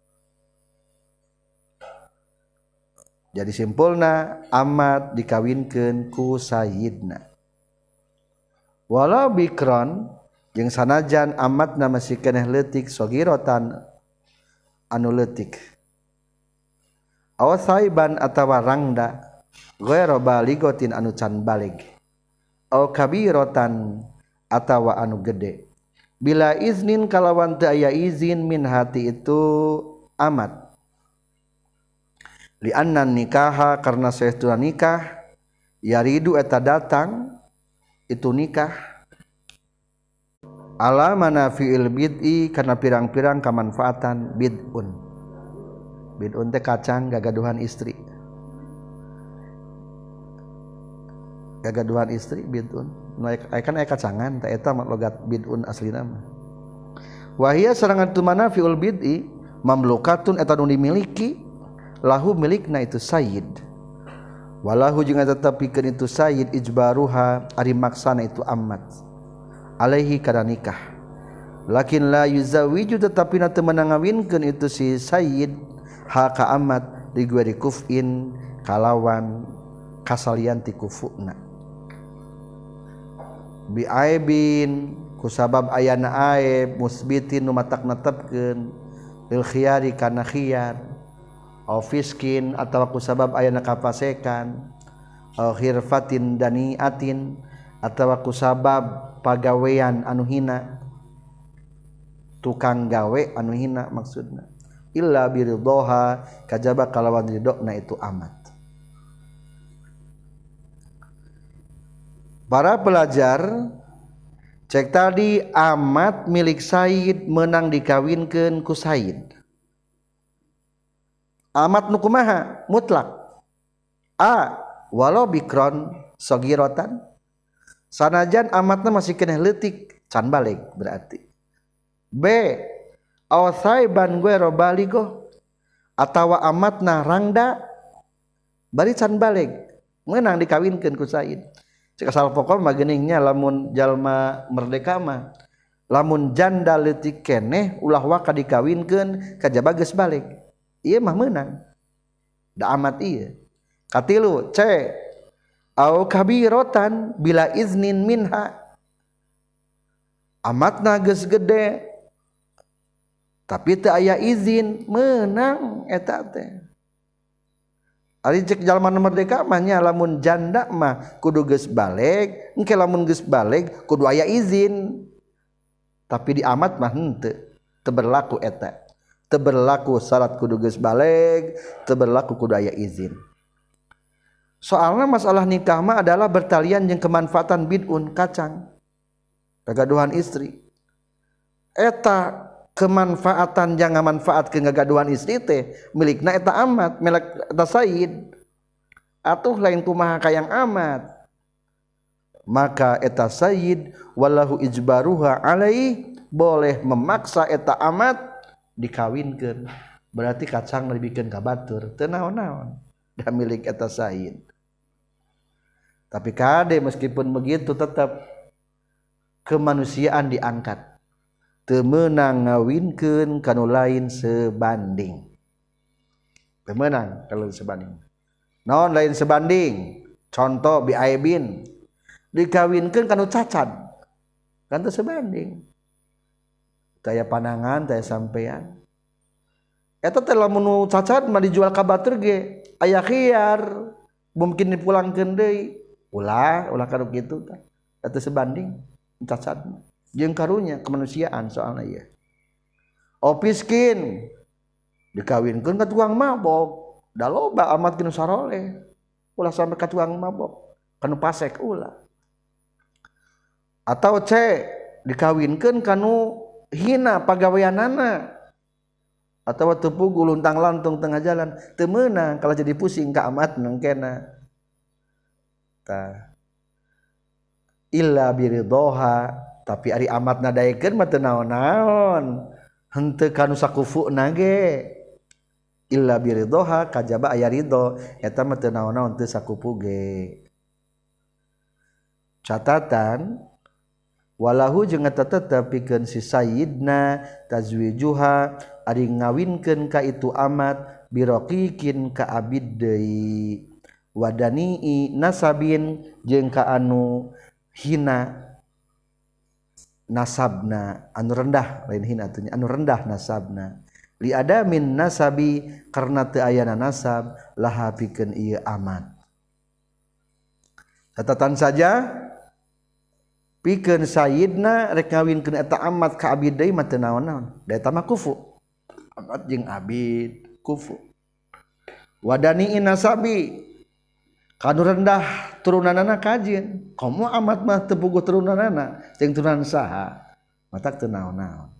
Jadi simpulna amat dikawinkeun ku sayyidna. Walau bikron jeung sanajan amatna masih keneh leutik sagirotan anu leutik. Aw saiban atawa rangda ghairu baligotin anu can balig. Aw kabiratan atawa anu gede. Bila iznin kalawan teu aya izin min hati itu amat. Li anna nikaha karna saestuna nikah yaridu eta datang itu nikah ala manafiil bid'i karena pirang-pirang kamanfaatan bid'un. Bid'un teh kacang gagaduhan istri. Gagaduhan istri bid'un. Aya kan aya kacangan teh eta logat bid'un aslina mah. Wa hiya sarangan tu manafiul bid'i mamlukatun eta nu dimiliki lahu milikna itu sayyid. Walahu jeung tetep pikeun itu sayyid ijbaruha ari maksana itu amat alaihi kana nikah. Lakin la yuzawiju tetapi na teu meunang ngawinkeun itu si sayyid ha ka amat di ghairi kufin kalawan kasalian ti kufuna. Bi aibin kusabab ayana aib musbitin nu matak netepkeun lil khiyari kana khiyar. Au fiskin atawa kusabab ayana kapasekan au khirfatin daniatin atawa kusabab pagawean anu hina tukang gawe anu hina maksudna illa biridhoha kajaba kalawan ridona itu amat. Para pelajar cek tadi amat milik sayyid menang dikawinkeun ku sayyid. Amat nu kumaha mutlak. A walau bikron sagirotan sanajan amatna masih keneh leutik can balik berarti. B aw saiban ghairu baligho atawa amatna rangda bari can balik meunang dikawinkeun ku sayyid. Cek asal pokok mah geuningnya lamun jalma merdeka mah lamun janda leutik keneh ulah waka dikawinkeun kajaba geus balik. Ieu mah meunang. Da amat ieu. Katilu C au kabiratan bila iznin minha. Amatna geus gede tapi teu aya izin meunang eta teh. Ari cek jalma merdeka mah nya lamun janda mah kudu geus baleg, engke lamun geus baleg kudu aya izin. Tapi di amat mah henteu, teu berlaku eta. Teu berlaku syarat kudu geus baleg, teu berlaku kudu aya izin. Soalna masalah nikah mah adalah bertalian jeung kemanfaatan bid'un kacang. Gagaduhan istri. eta kemanfaatan jangan manfaat ke ngagaduhan istri teh milikna eta amat milik eta sayyid atuh lain kumaha kayang amat maka eta sayyid wallahu ijbaruha alai boleh memaksa eta amat dikawinkeun berarti kacang lebihkeun ka batur teu naon-naon da milik eta sayyid tapi kade meskipun begitu tetap kemanusiaan diangkat teu meunang ngawinkeun kanu lain sebanding teu meunang kalau sebanding naon lain sebanding contoh bi aibin dikawinkeun kanu cacat kan teu sebanding taya panangan taya sampean eta teh lamun nu cacat mah dijual ka batur ge aya khiyar mungkin dipulangkeun deui ulah ulah kanu kitu tah eta sebanding cacat jeung karunya kemanusiaan soalna ieu opiskin dikawinkeun ka tukang mabok da loba amat kinu saroleh ulah sampe ka tukang mabok kanu pasek ulah atau C dikawinkeun kanu hina pagaweanana atawa teu pugu luntang lantung tengah jalan teu meunang kalau jadi pusing ka amat nengkena tah illa biridhoha tapi ari amat nadaekeun mah teu naon-naon henteu kanu sakufuna ge illa biridhoha kajaba aya ridho eta mah teu naon-naon teu sakupu ge catatan walahu jeung eta tetep pikeun si sayyidna tazwijuha ari ngawinkeun ka itu amat biroqiqin ka abid deui wadanii nasabin jeung ka anu hina nasabna anu rendah lain hina atunya anu rendah nasabna li adamin nasabi karna teu ayana nasab laha pikeun ieu amat catatan saja pikeun sayyidna rek ngawinkeun eta amat ka abid deui mah teu naon-naon da eta mah kufu amat jeung abid kufu wadani nasabi kanu rendah turunanana kajieun komo amat mah teu puguh turunanana jeung turunan saha matak teu naon-naon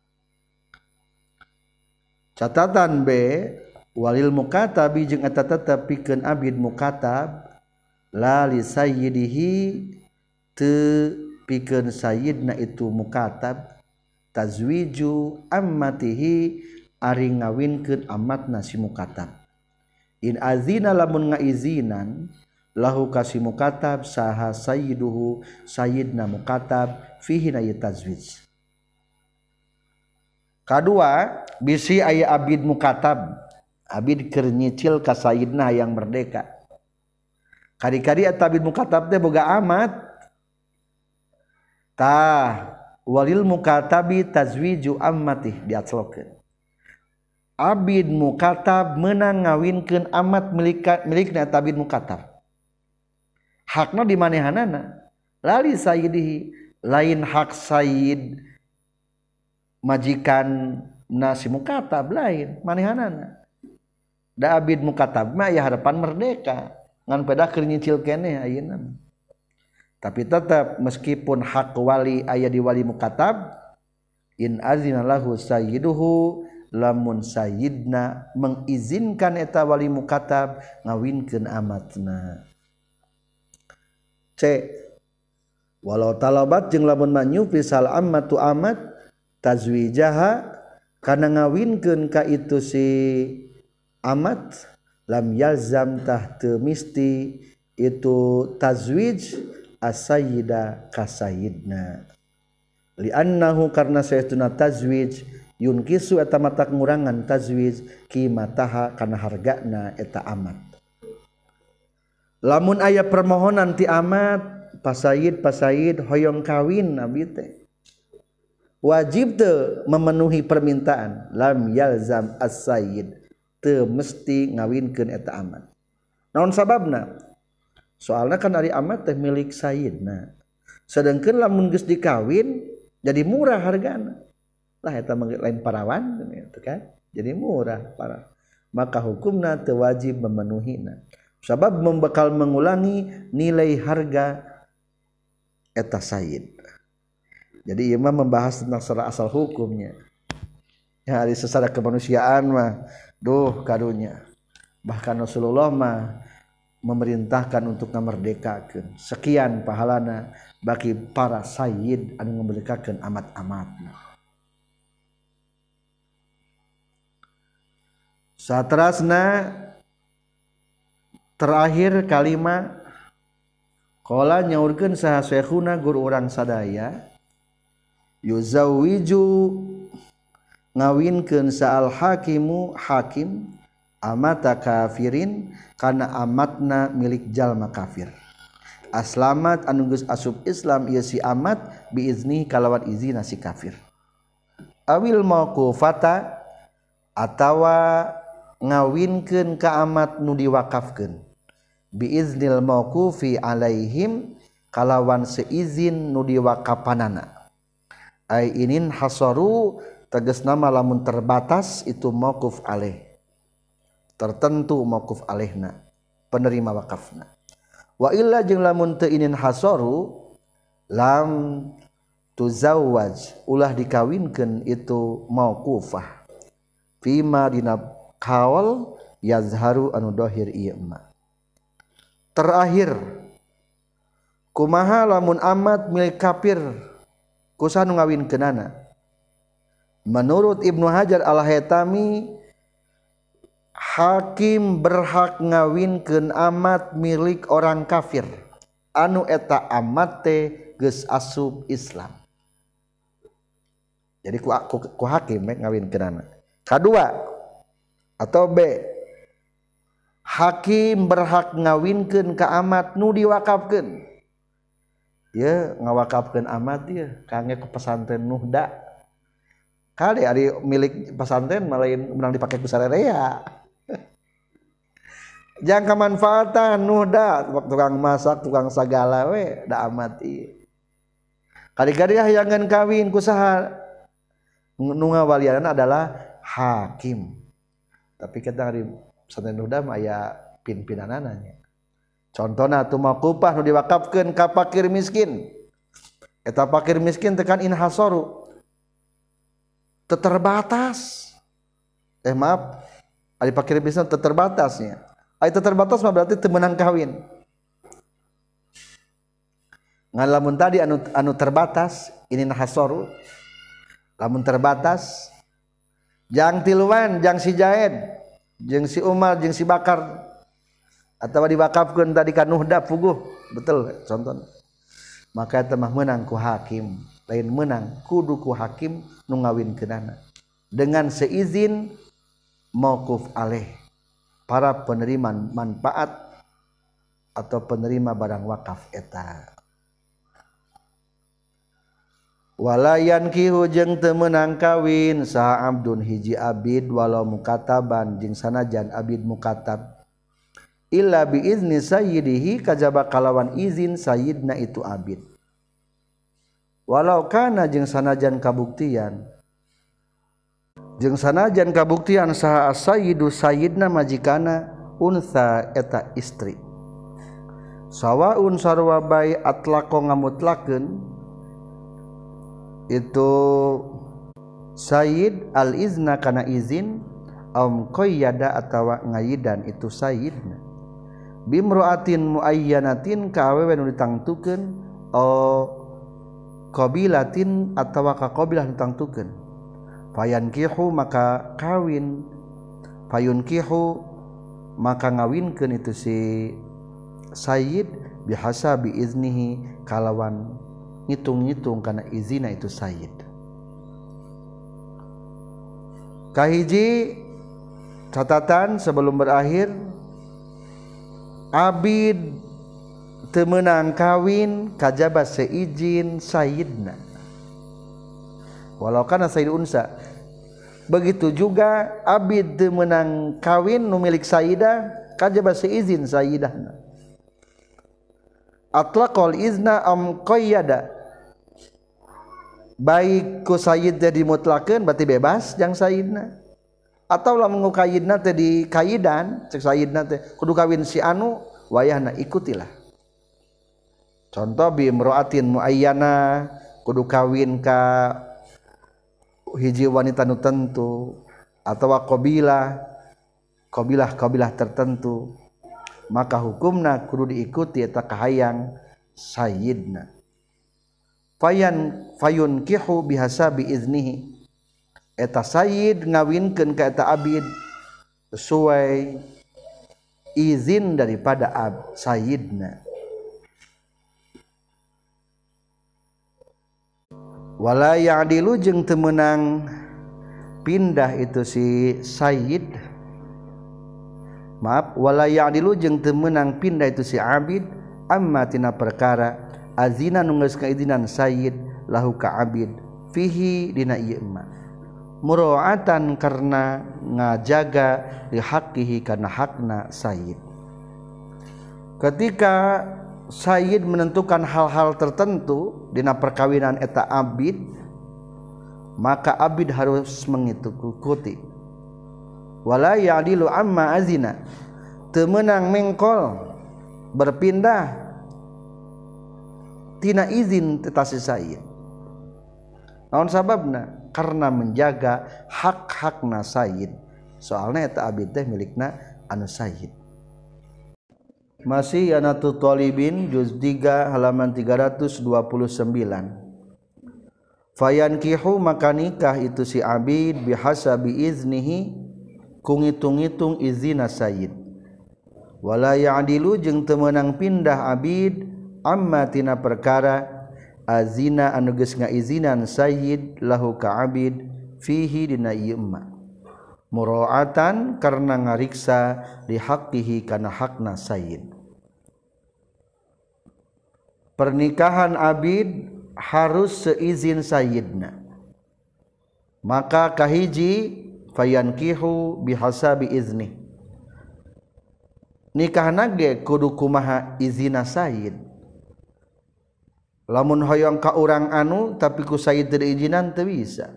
catatan B walil mukatabi jeung eta tetep pikeun abid mukatab la li sayyidihi teu pikeun sayyidna itu mukatab tazwiju ammatihi ari ngawinkeun amatna si mukatab in azina lamun ngaizinan lahu kasi mukatab saha sayyiduhu sayyidna mukatab fihi na tazwij kadua bisi aya abid mukatab abid keur nyicil ka sayyidna yang merdeka kadi-kadi eta abid mukatab teh boga amat tah walil mukatabi tazwiju ammatih diaclokeun abid mukatab meunang ngawinkeun amat milik milikna abid mukatab hakna di manehanana lali sayyidihi lain hak sayyid majikan nasi mukatab lain manehanana da abid mukatab mah ya harapan merdeka ngan peda keur nyicil keneh ayeuna tapi tetap meskipun hak wali aya di wali mukatab in azina lahu sayyiduhu lamun sayyidna mengizinkan eta wali mukatab ngawinkeun amatna C walau talabat jeung lamun manyupi sal ammatu amat tazwijaha kana ngawinkeun ka itu si amat lam yalzam tah teu misti itu tazwij as-sayyida ka sayyidna li annahu karna saytuna tazwij yunkisu eta mata ngurangan tazwij qimataha kana hargana eta amat lamun aya permohonan ti amat pasayid pasayid hoyong kawin abi teh wajib teu memenuhi permintaan lam yalzam as-sayyid teu mesti ngawinkeun eta amat naon sababna soalna kan ari amat teh milik sayyidna sedengkeun lamun geus dikawin jadi murah hargana lah eta lain parawan gitu kan jadi murah para maka hukumna teu wajib memenuhina sabab membekal mengulangi nilai harga eta sayyid Jadi imam membahas tentang secara asal hukumnya. Ya, dari secara kemanusiaan mah duh karunya. Bahkan Rasulullah mah memerintahkan untuk ngamerdekakeun. Sekian pahalana bagi para sayyid anu ngamerdekakeun amat-amatna. Saterasna terakhir kalimat qala nyaurkeun saha syekhuna guru urang sadaya yuzawwiju ngawinkeun saal hakimu hakim amata kafirin kana amatna milik jalma kafir aslamat anu geus asup Islam ieu si amat biizni kalawan izina si kafir awil mauqufata atawa ngawinkeun ka amat nu diwakafkeun biiznil mauqufi alaihim kalawan seizin nu diwakapanana ai inin hasaru tegasna lamun terbatas itu mauquf alaih tertentu mauquf alaihna penerima wakafna wa illa jeung lamun teu inin hasaru lam tuzawwaj ulah dikawinkeun itu mauqufah fima dina kaul yazharu anu dohir ieu mah terakhir kumaha lamun amat milik kafir kusaha nu ngawinkeunana menurut Ibnu Hajar Al-Haytami hakim berhak ngawinkeun amat milik orang kafir anu eta amat teh geus asup Islam jadi ku, ku, ku hakim ngawinkeunana kadua atau B hakim berhak ngawinkeun ka amat nu diwakafkeun ya ngawakafkeun amat dia kangge ke pesantren Nuhda kali ari milik pesantren malain menang dipake ku sarerea jang kamanfaatan Nuhda tukang masak tukang sagala we da amat ieu kali-kali hayangan kawin ku saha nu ngawalianana adalah hakim tapi kita hari pesantren Nuhda mah aya pin-pinanana nya contohna tu maqupah nu diwakafkeun ka fakir miskin eta fakir miskin tekan inhasaru teu terbatas eh maaf ari fakir miskin teu terbatasnya ari teu terbatas mah berarti teu meunang kawin ngan lamun tadi anu anu terbatas inhasaru lamun terbatas jang tiluan jang si Jaed jeung si Umar jeung si Bakar atawa diwakafkeun tadi ka Nuhda puguh betul contohna maka eta mah meunang ku hakim lain meunang kudu ku hakim nu ngawinkeunana dengan seizin mauquf alaih para penerima manfaat atau penerima barang wakaf eta walayan kihu jeung teu meunang kawin saha abdun hiji abid walau mukataban jeung sanajan abid mukatab illa bi izni sayyidihi kajaba kalawan izin sayyidna itu abid walau kana jeung sanajan kabuktian jeung sanajan kabuktian saha sayyidu sayyidna majikana unsa eta istri sawaun sarwa bae atlaqo ngamutlakeun itu sayyid al-izna kana izin am qayyada atawa ngayidan itu sayyidna bimra'atin muayyanatin ka awewe nu ditangtukeun o qabilatin atawa ka qabilah ditangtukeun fayankihu maka kawin fayunkihu maka ngawinkeun itu si sayyid bihasabi iznihi kalawan ngitung-ngitung karena izina itu sayyid kahiji catatan sebelum berakhir abid teu meunang kawin kajaba seizin sayyidna walau kana sayyid unsa begitu juga abid teu meunang kawin nu milik sayyidah kajaba seizin sayyidahna atlaqal izna am qayyada baik ku sayyid teh dimutlakeun berarti bebas jang sayyidna atau lamun qayyidna teh di kaidan cek sayyidna teh kudu kawin si anu wayahna ikutilah contoh bi imra'atin muayyana kudu kawin ka hiji wanita nu tentu atawa qabilah qabilah-qabilah tertentu, maka hukumna kudu diikuti eta kahayang sayyidna. Fayan fayunkihu bihasabi iznihi, eta sayyid ngawinkeun ka eta abid sesuai izin daripada ab sayyidna. Wala ya'dilu jeung teu meunang pindah itu si sayyid, maaf, wala ya'dilu jeung teu meunang pindah itu si abid amma tina perkara azina nu geus kaizinan sayyid lahu ka abid fihi dina ieu emma, muraatan karena ngajaga li haqqihi kana hakna sayyid. Ketika sayyid menentukan hal-hal tertentu dina perkawinan eta abid, maka abid harus mengikuti. Wala ya'dilu amma azina, teu meunang mengkol berpindah tina izin eta si sayyid. Naon sababna? Karena menjaga hak-hakna sayyid. Soalna eta abid teh milikna anu sayyid. Masih Yanatu Thalibin juz tiga halaman tiga ratus dua puluh sembilan. Fayankihu maka nikah itu si abid bihasabi iznihi ku ngitung-ngitung izina sayyid. Wala ya'dilu jeung teu meunang pindah abid amma tina perkara azina anu geus ngaizinan sayyid lahu ka abid fihi dina ieu emma, muraatan karena ngariksa li haqqihi kana hakna sayyid. Pernikahan abid harus seizin sayyidna, maka kahiji fayankihu bihasabi izni, nikahna ge kudu kumaha izina sayyid. Lamun hoyong ka urang anu tapi ku sayyid teu diizinan teu bisa,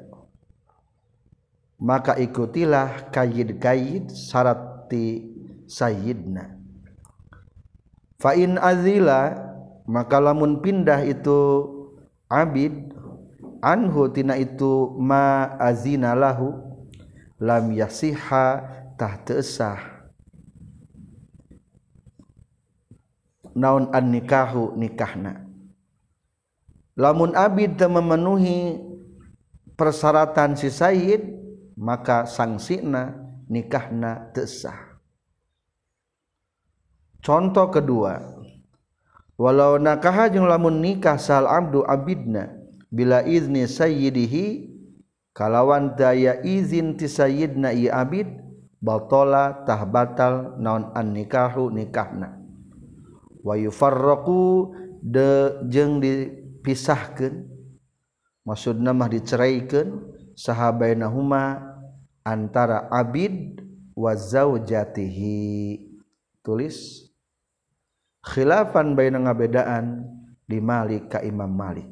maka ikutilah kayyid-kayyid syarat ti sayyidna. Fa in azila, maka lamun pindah itu abid anhu tina itu ma azina lahu lam yasiha tah teu sah naon an nikahu nikahna. Lamun abid teu memenuhi persyaratan si sayyid, maka sangsina nikahna teu sah. Contoh kedua, walau nakah jeung lamun nikah sal abdu abidna bila izni sayyidihi, kalawan daya izin ti sayyidna ieu abid, batala tah batal naon an nikahu nikahna. Wa yufarraqu de jeung dipisahkeun, maksudna mah diceraikeun saha bainahuma antara abid wa zaujatihi. Tulis khilafan baina ngabedaan di Malik ka Imam Malik.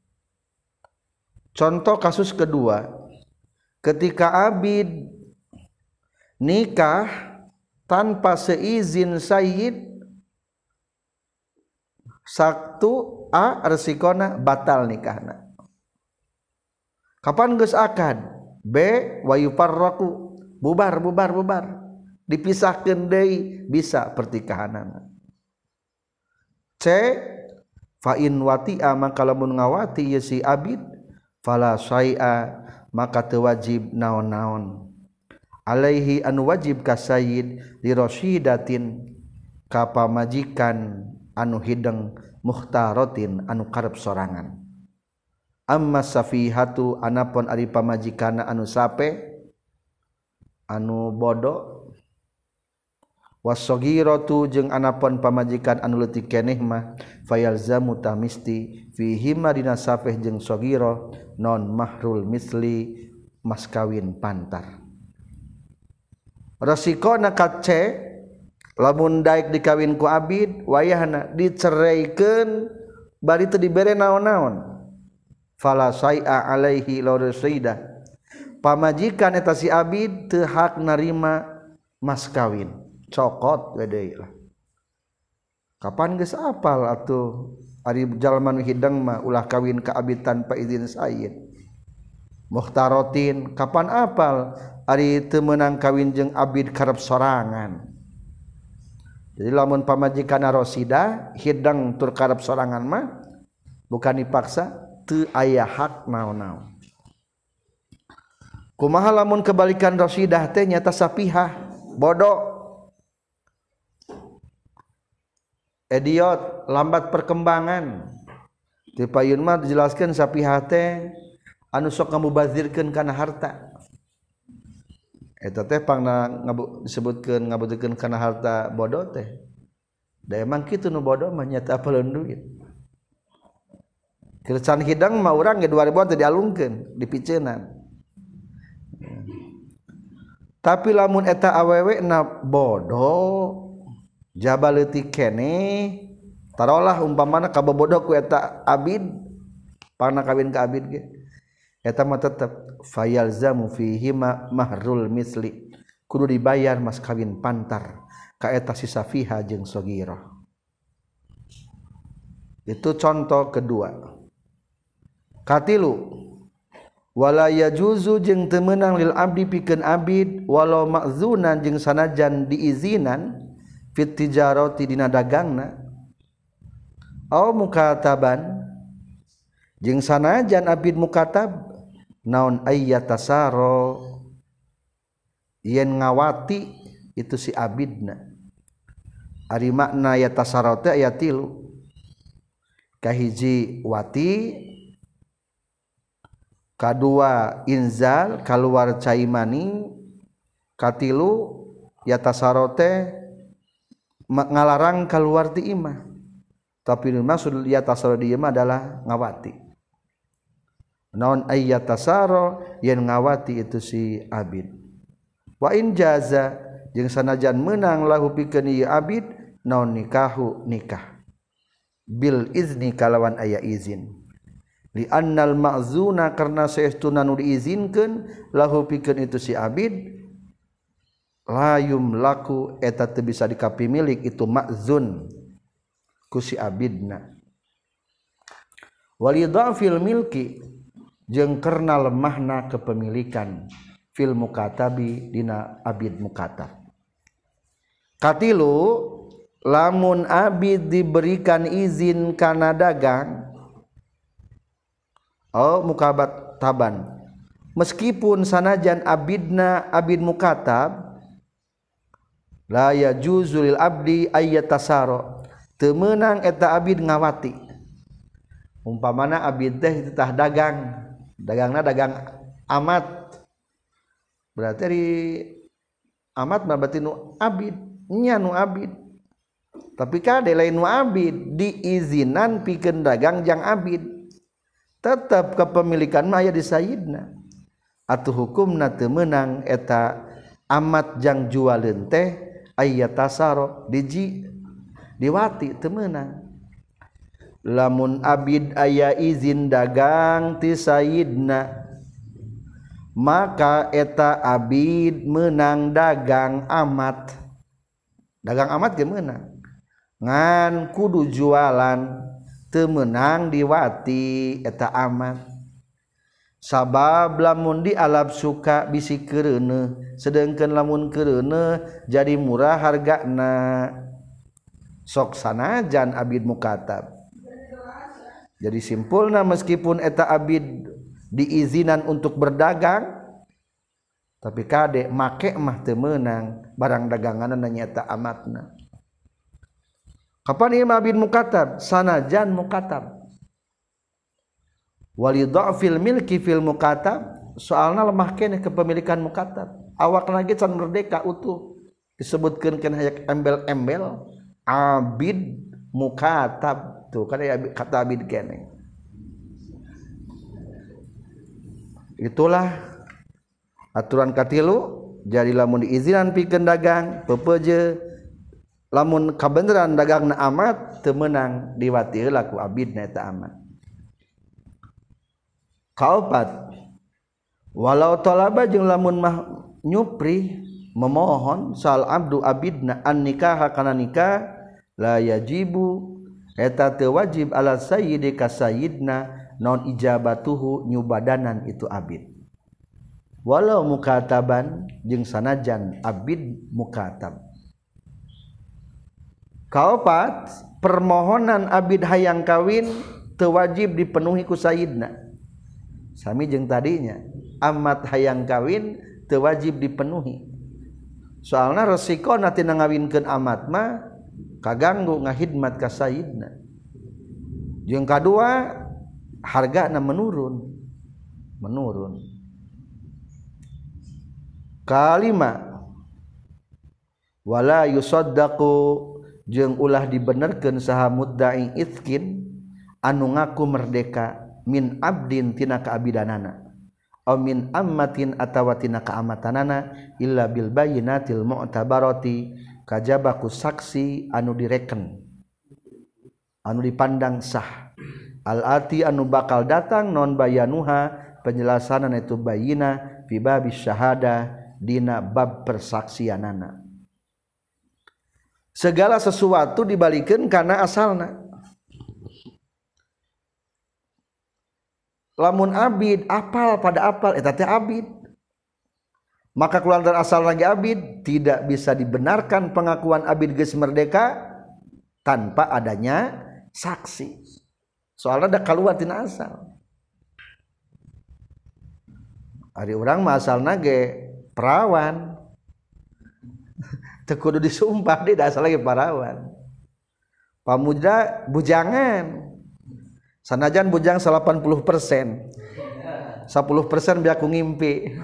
Contoh kasus kedua, ketika abid nikah tanpa seizin sayyid, saktu a resikona batal nikahna. Kapan geus akad? B wa yufarraqu, bubar bubar bubar, dipisahkeun deui bisa pertikahanana. C fa in wati'a, maka lamun ngawati ieu si abid, fala syai'a, maka teu wajib naon-naon. Alaihi anu wajib ka sayyid li rasyidatin, ka pamajikan anu hideng, muhtaratin anu karep sorangan. Amma safihatu, anapun ari pamajikana anu sape, anu bodoh, wasogiratu jeung anapun pamajikan anu leutik keneh mah, fayalzamu tamisti fihi madina safeh jeung sogiro non mahrul misli, mas kawin pantar. Rasikona ka C, lamun daek dikawin ku abid wayahna diceraikeun bari teu dibere naon-naon, fala syai'a alaihi la rasida, pamajikan eta si abid teu hak narima mas kawin, cokot we deui lah. kapan geus apal atuh ari jalma nu hidang mah ulah kawin ka abid tanpa izin sayyid. Mukhtarotin kapan apal ari teu meunang kawin jeung abid karep sorangan. Jadi lamun pamajikanna Rosidah hidang tur karep sorangan mah bukan dipaksa, teu aya hak naon-naon. Kumaha lamun kebalikan Rosidah teh nyata sapihah, bodoh, idiot, lambat perkembangan. Di payun mah dijelaskeun sapihah teh anu sok ngamubazirkeun kana harta. Eta teh pangna disebutkeun ngabutkeun kana harta bodoh teh. Da emang kitu nu bodoh mah nyata apaleun duit. Kerecan hidang mah urang ge dua ribuan teh dialungkeun, dipiceunan. Tapi lamun eta awewe na bodoh, jaba leutik keneh, tarolah umpamana kabobodoh ku eta abid, pangna kawin ka abid ge. Eta mah tetep fayalzamu fihi mahrul misli, kudu dibayar mas kawin pantar ka eta si safiha jeung saghirah. Itu contoh kedua. Katilu wala yajuzu jeung teu meunang lil abdi pikeun abid walau ma'zunan jeung sanajan diizinan fit tijarati dina dagangna au mukataban jeung sanajan abid mukatab naon ayyatasaro yen ngawati itu si abidna. Ari makna yatasaro teh aya tilu. Kahiji wati, kadua inzal kaluar cai mani, katilu yatasaro teh ngalarang keluar ti imah. Tapi maksud yatasaro di imah adalah ngawati. Naon ayyatasaro yen ngawati itu si abid. Wa in jaza jeung sanajan meunang lahu pikeun ieu abid naon nikahu nikah. Bil izni kalawan aya izin. Li annal ma'zuna karna saestuna nu diizinkeun lahu pikeun itu si abid la yumlaku eta teu bisa dikapimilik itu ma'zun ku si abidna. Walidhafil milki jeung karna lemahna kepemilikan fil mukatabi dina abid mukatab. Katilu lamun abid diberikan izin kana dagang oh mukabat taban meskipun sanajan abidna abid mukatab la yajuzu lil abdi ayyatasaro teu meunang eta abid ngawati. Umpamana abid teh tah dagang, dagangna dagang amat, berarti di amat mah berarti nu abid nya nu abid. Tapi kade lain nu abid diizinan pikeun dagang jang abid, tetap kepemilikan mah aya di sayyidna. Atuh hukumna teu meunang eta amat jang jualeun teh ayyatasaro diji diwati teu meunang. Lamun abid aya izin dagang ti sayyidna maka eta abid meunang dagang amat. Dagang amat ge meunang. Ngan kudu jualan teu meunang diwati eta amat. Sabab lamun dialap suka bisi keureuneuh sedengkeun lamun keureuneuh jadi murah hargana. Sok sanajan abid mukatab. Jadi simpulna meskipun eta abid diizinan untuk berdagang tapi kade make mah teu meunang barang daganganna nyaeta amatna. Kapan ieu abid mukatab? Sanajan mukatab. Walidhafil milki fil mukatab soalna lemah keneh kepemilikan mukatab. Awakna ge can merdeka utuh. Disebutkeun kana hayak embel-embel abid mukatab tuh kan aya kata abid keneh. Itulah aturan katilu jadi lamun diizinan pikeun dagang peupeuje lamun kabeneran dagangna amat teu meunang diwati heula ku abidna eta amat. Kaopat walau talaba jeung lamun mah nyupri memohon sal abdu abidna an nikah kana nikah la yajibu eta teu wajib ala sayyidi ka sayyidna non ijabatuhu nyubadanan itu abid walau mukataban jeung sanajan abid mukatab. Kaopat permohonan abid hayang kawin teu wajib dipenuhi ku sayyidna sami jeung tadinya amat hayang kawin teu wajib dipenuhi soalna resikona tina ngawinkeun amat mah kaganggu ngahidmat ka sayyidna jeung kadua hargana menurun menurun. Kalima wala yusaddaqu jeung ulah dibenerkeun saha mudda'i itskin anu ngaku merdeka min abdin tina kaabidanana aw min ammatin atawa tina kaamatanana illa bil bayyinatil mu'tabarati kajaba ku saksi anu direken anu dipandang sah al ati anu bakal datang non bayanuha penjelasanan itu bayina fi babis syahada dina bab persaksianana. Segala sesuatu dibalikeun kana asalna. Lamun abid apal pada apal eta teh abid. Maka keluar dari asal lagi abid tidak bisa dibenarkan pengakuan abid geus merdeka tanpa adanya saksi. Soalnya ada keluar tina asal. Ari urang mah asalna ge perawan teu kudu disumpah deui da asal lagi perawan. Pamuda bujangan. Sanajan bujang delapan puluh persen. sepuluh persen biar aku ngimpi.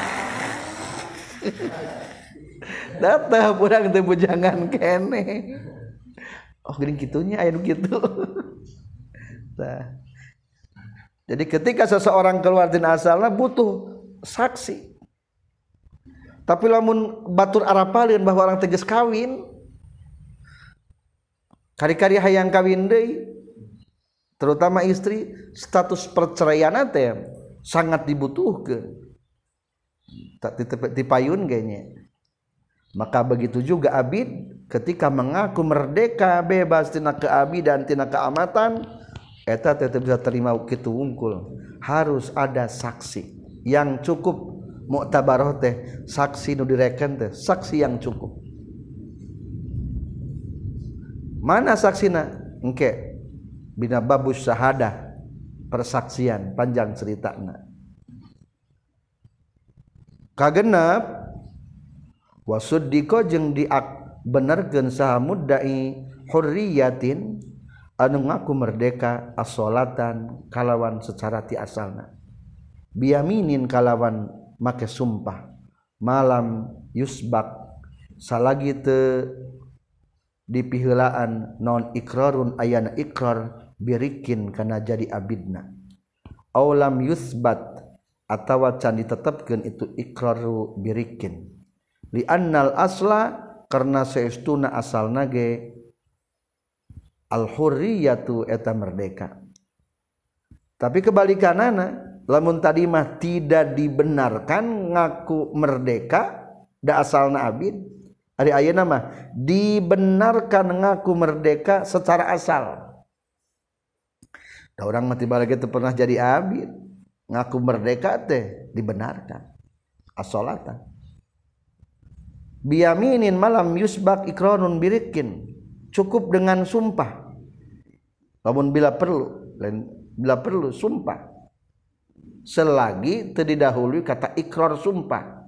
Datah urang teu bujangan kene. Oh geuning kitunya aya nu kitu. Tah. Jadi ketika seseorang keluar tina asalna butuh saksi. Tapi lamun batur arapalieun bahwa orang tegas kawin, kari-kari hayang kawin deui, terutama istri, status perceraian teh sangat dibutuhkeun. Tak dipayun ganya. Maka begitu juga abid ketika mengaku merdeka bebas tina keabidan tina keamatan, eta tetep bisa terima kitu wungkul. Harus ada saksi yang cukup. Mu'tabaroh teh saksi nu direken teh saksi yang cukup. Mana saksina? Engke bina babus syahadah persaksian panjang ceritana. Kagenep wasuddiqo jeung dibenerkeun saha mudda'i hurriyatin anu ngaku merdeka as-sholatan kalawan secara ti asalna. Biyaminin kalawan make sumpah malam yusbak salagi teu dipiheulaan non ikrarun ayana ikrar birikin kana jadi abidna aw lam yusbat atawa can ditetepkeun itu ikraru birikin li annal asla karna saestuna asalna ge al hurriyatu eta merdeka. Tapi kebalikanana lamun tadi mah tidak dibenarkan ngaku merdeka da asalna abid, ari ayeuna mah dibenarkan ngaku merdeka secara asal. Da urang mah tibalik teu pernah jadi abid, ngaku merdeka teh dibenarkan as-sholatan. Biyaminin malam yusbak ikranun birikin, cukup dengan sumpah. Lamun bila perlu, bila perlu sumpah. Selagi teu didahului kata ikrar sumpah.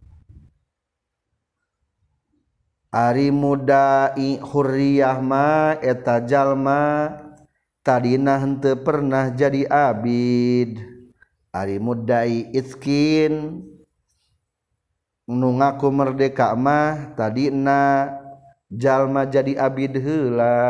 Ari mudai hurriyah ma eta jalma tadina henteu pernah jadi abid. Ari mudai itskin nu ngaku merdeka mah tadina jalma jadi abid heula.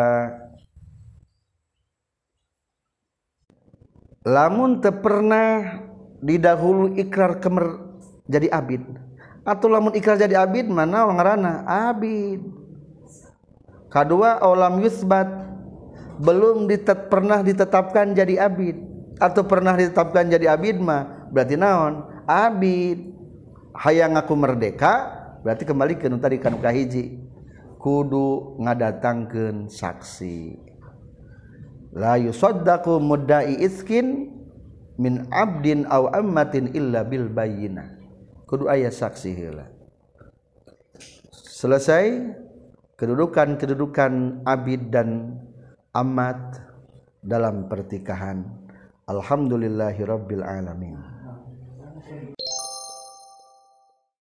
Lamun teu pernah didahulu ikrar kemer jadi abid atau lamun ikrar jadi abid mana ngaranna abid. Kadua aulam yusbat belum ditet, pernah ditetapkan jadi abid atau pernah ditetapkan jadi abid mah berarti naon abid. Hayang ngaku merdeka berarti kembali ke nu tadi kan kahiji kudu ngadatangkeun saksi. La yusaddaqu mudda'i iskin min abdin aw ammatin illa bil bayyinah. Kudu aya saksi heula. Selesai kedudukan-kedudukan abid dan amat dalam pertikahan. Alhamdulillahirabbil alamin.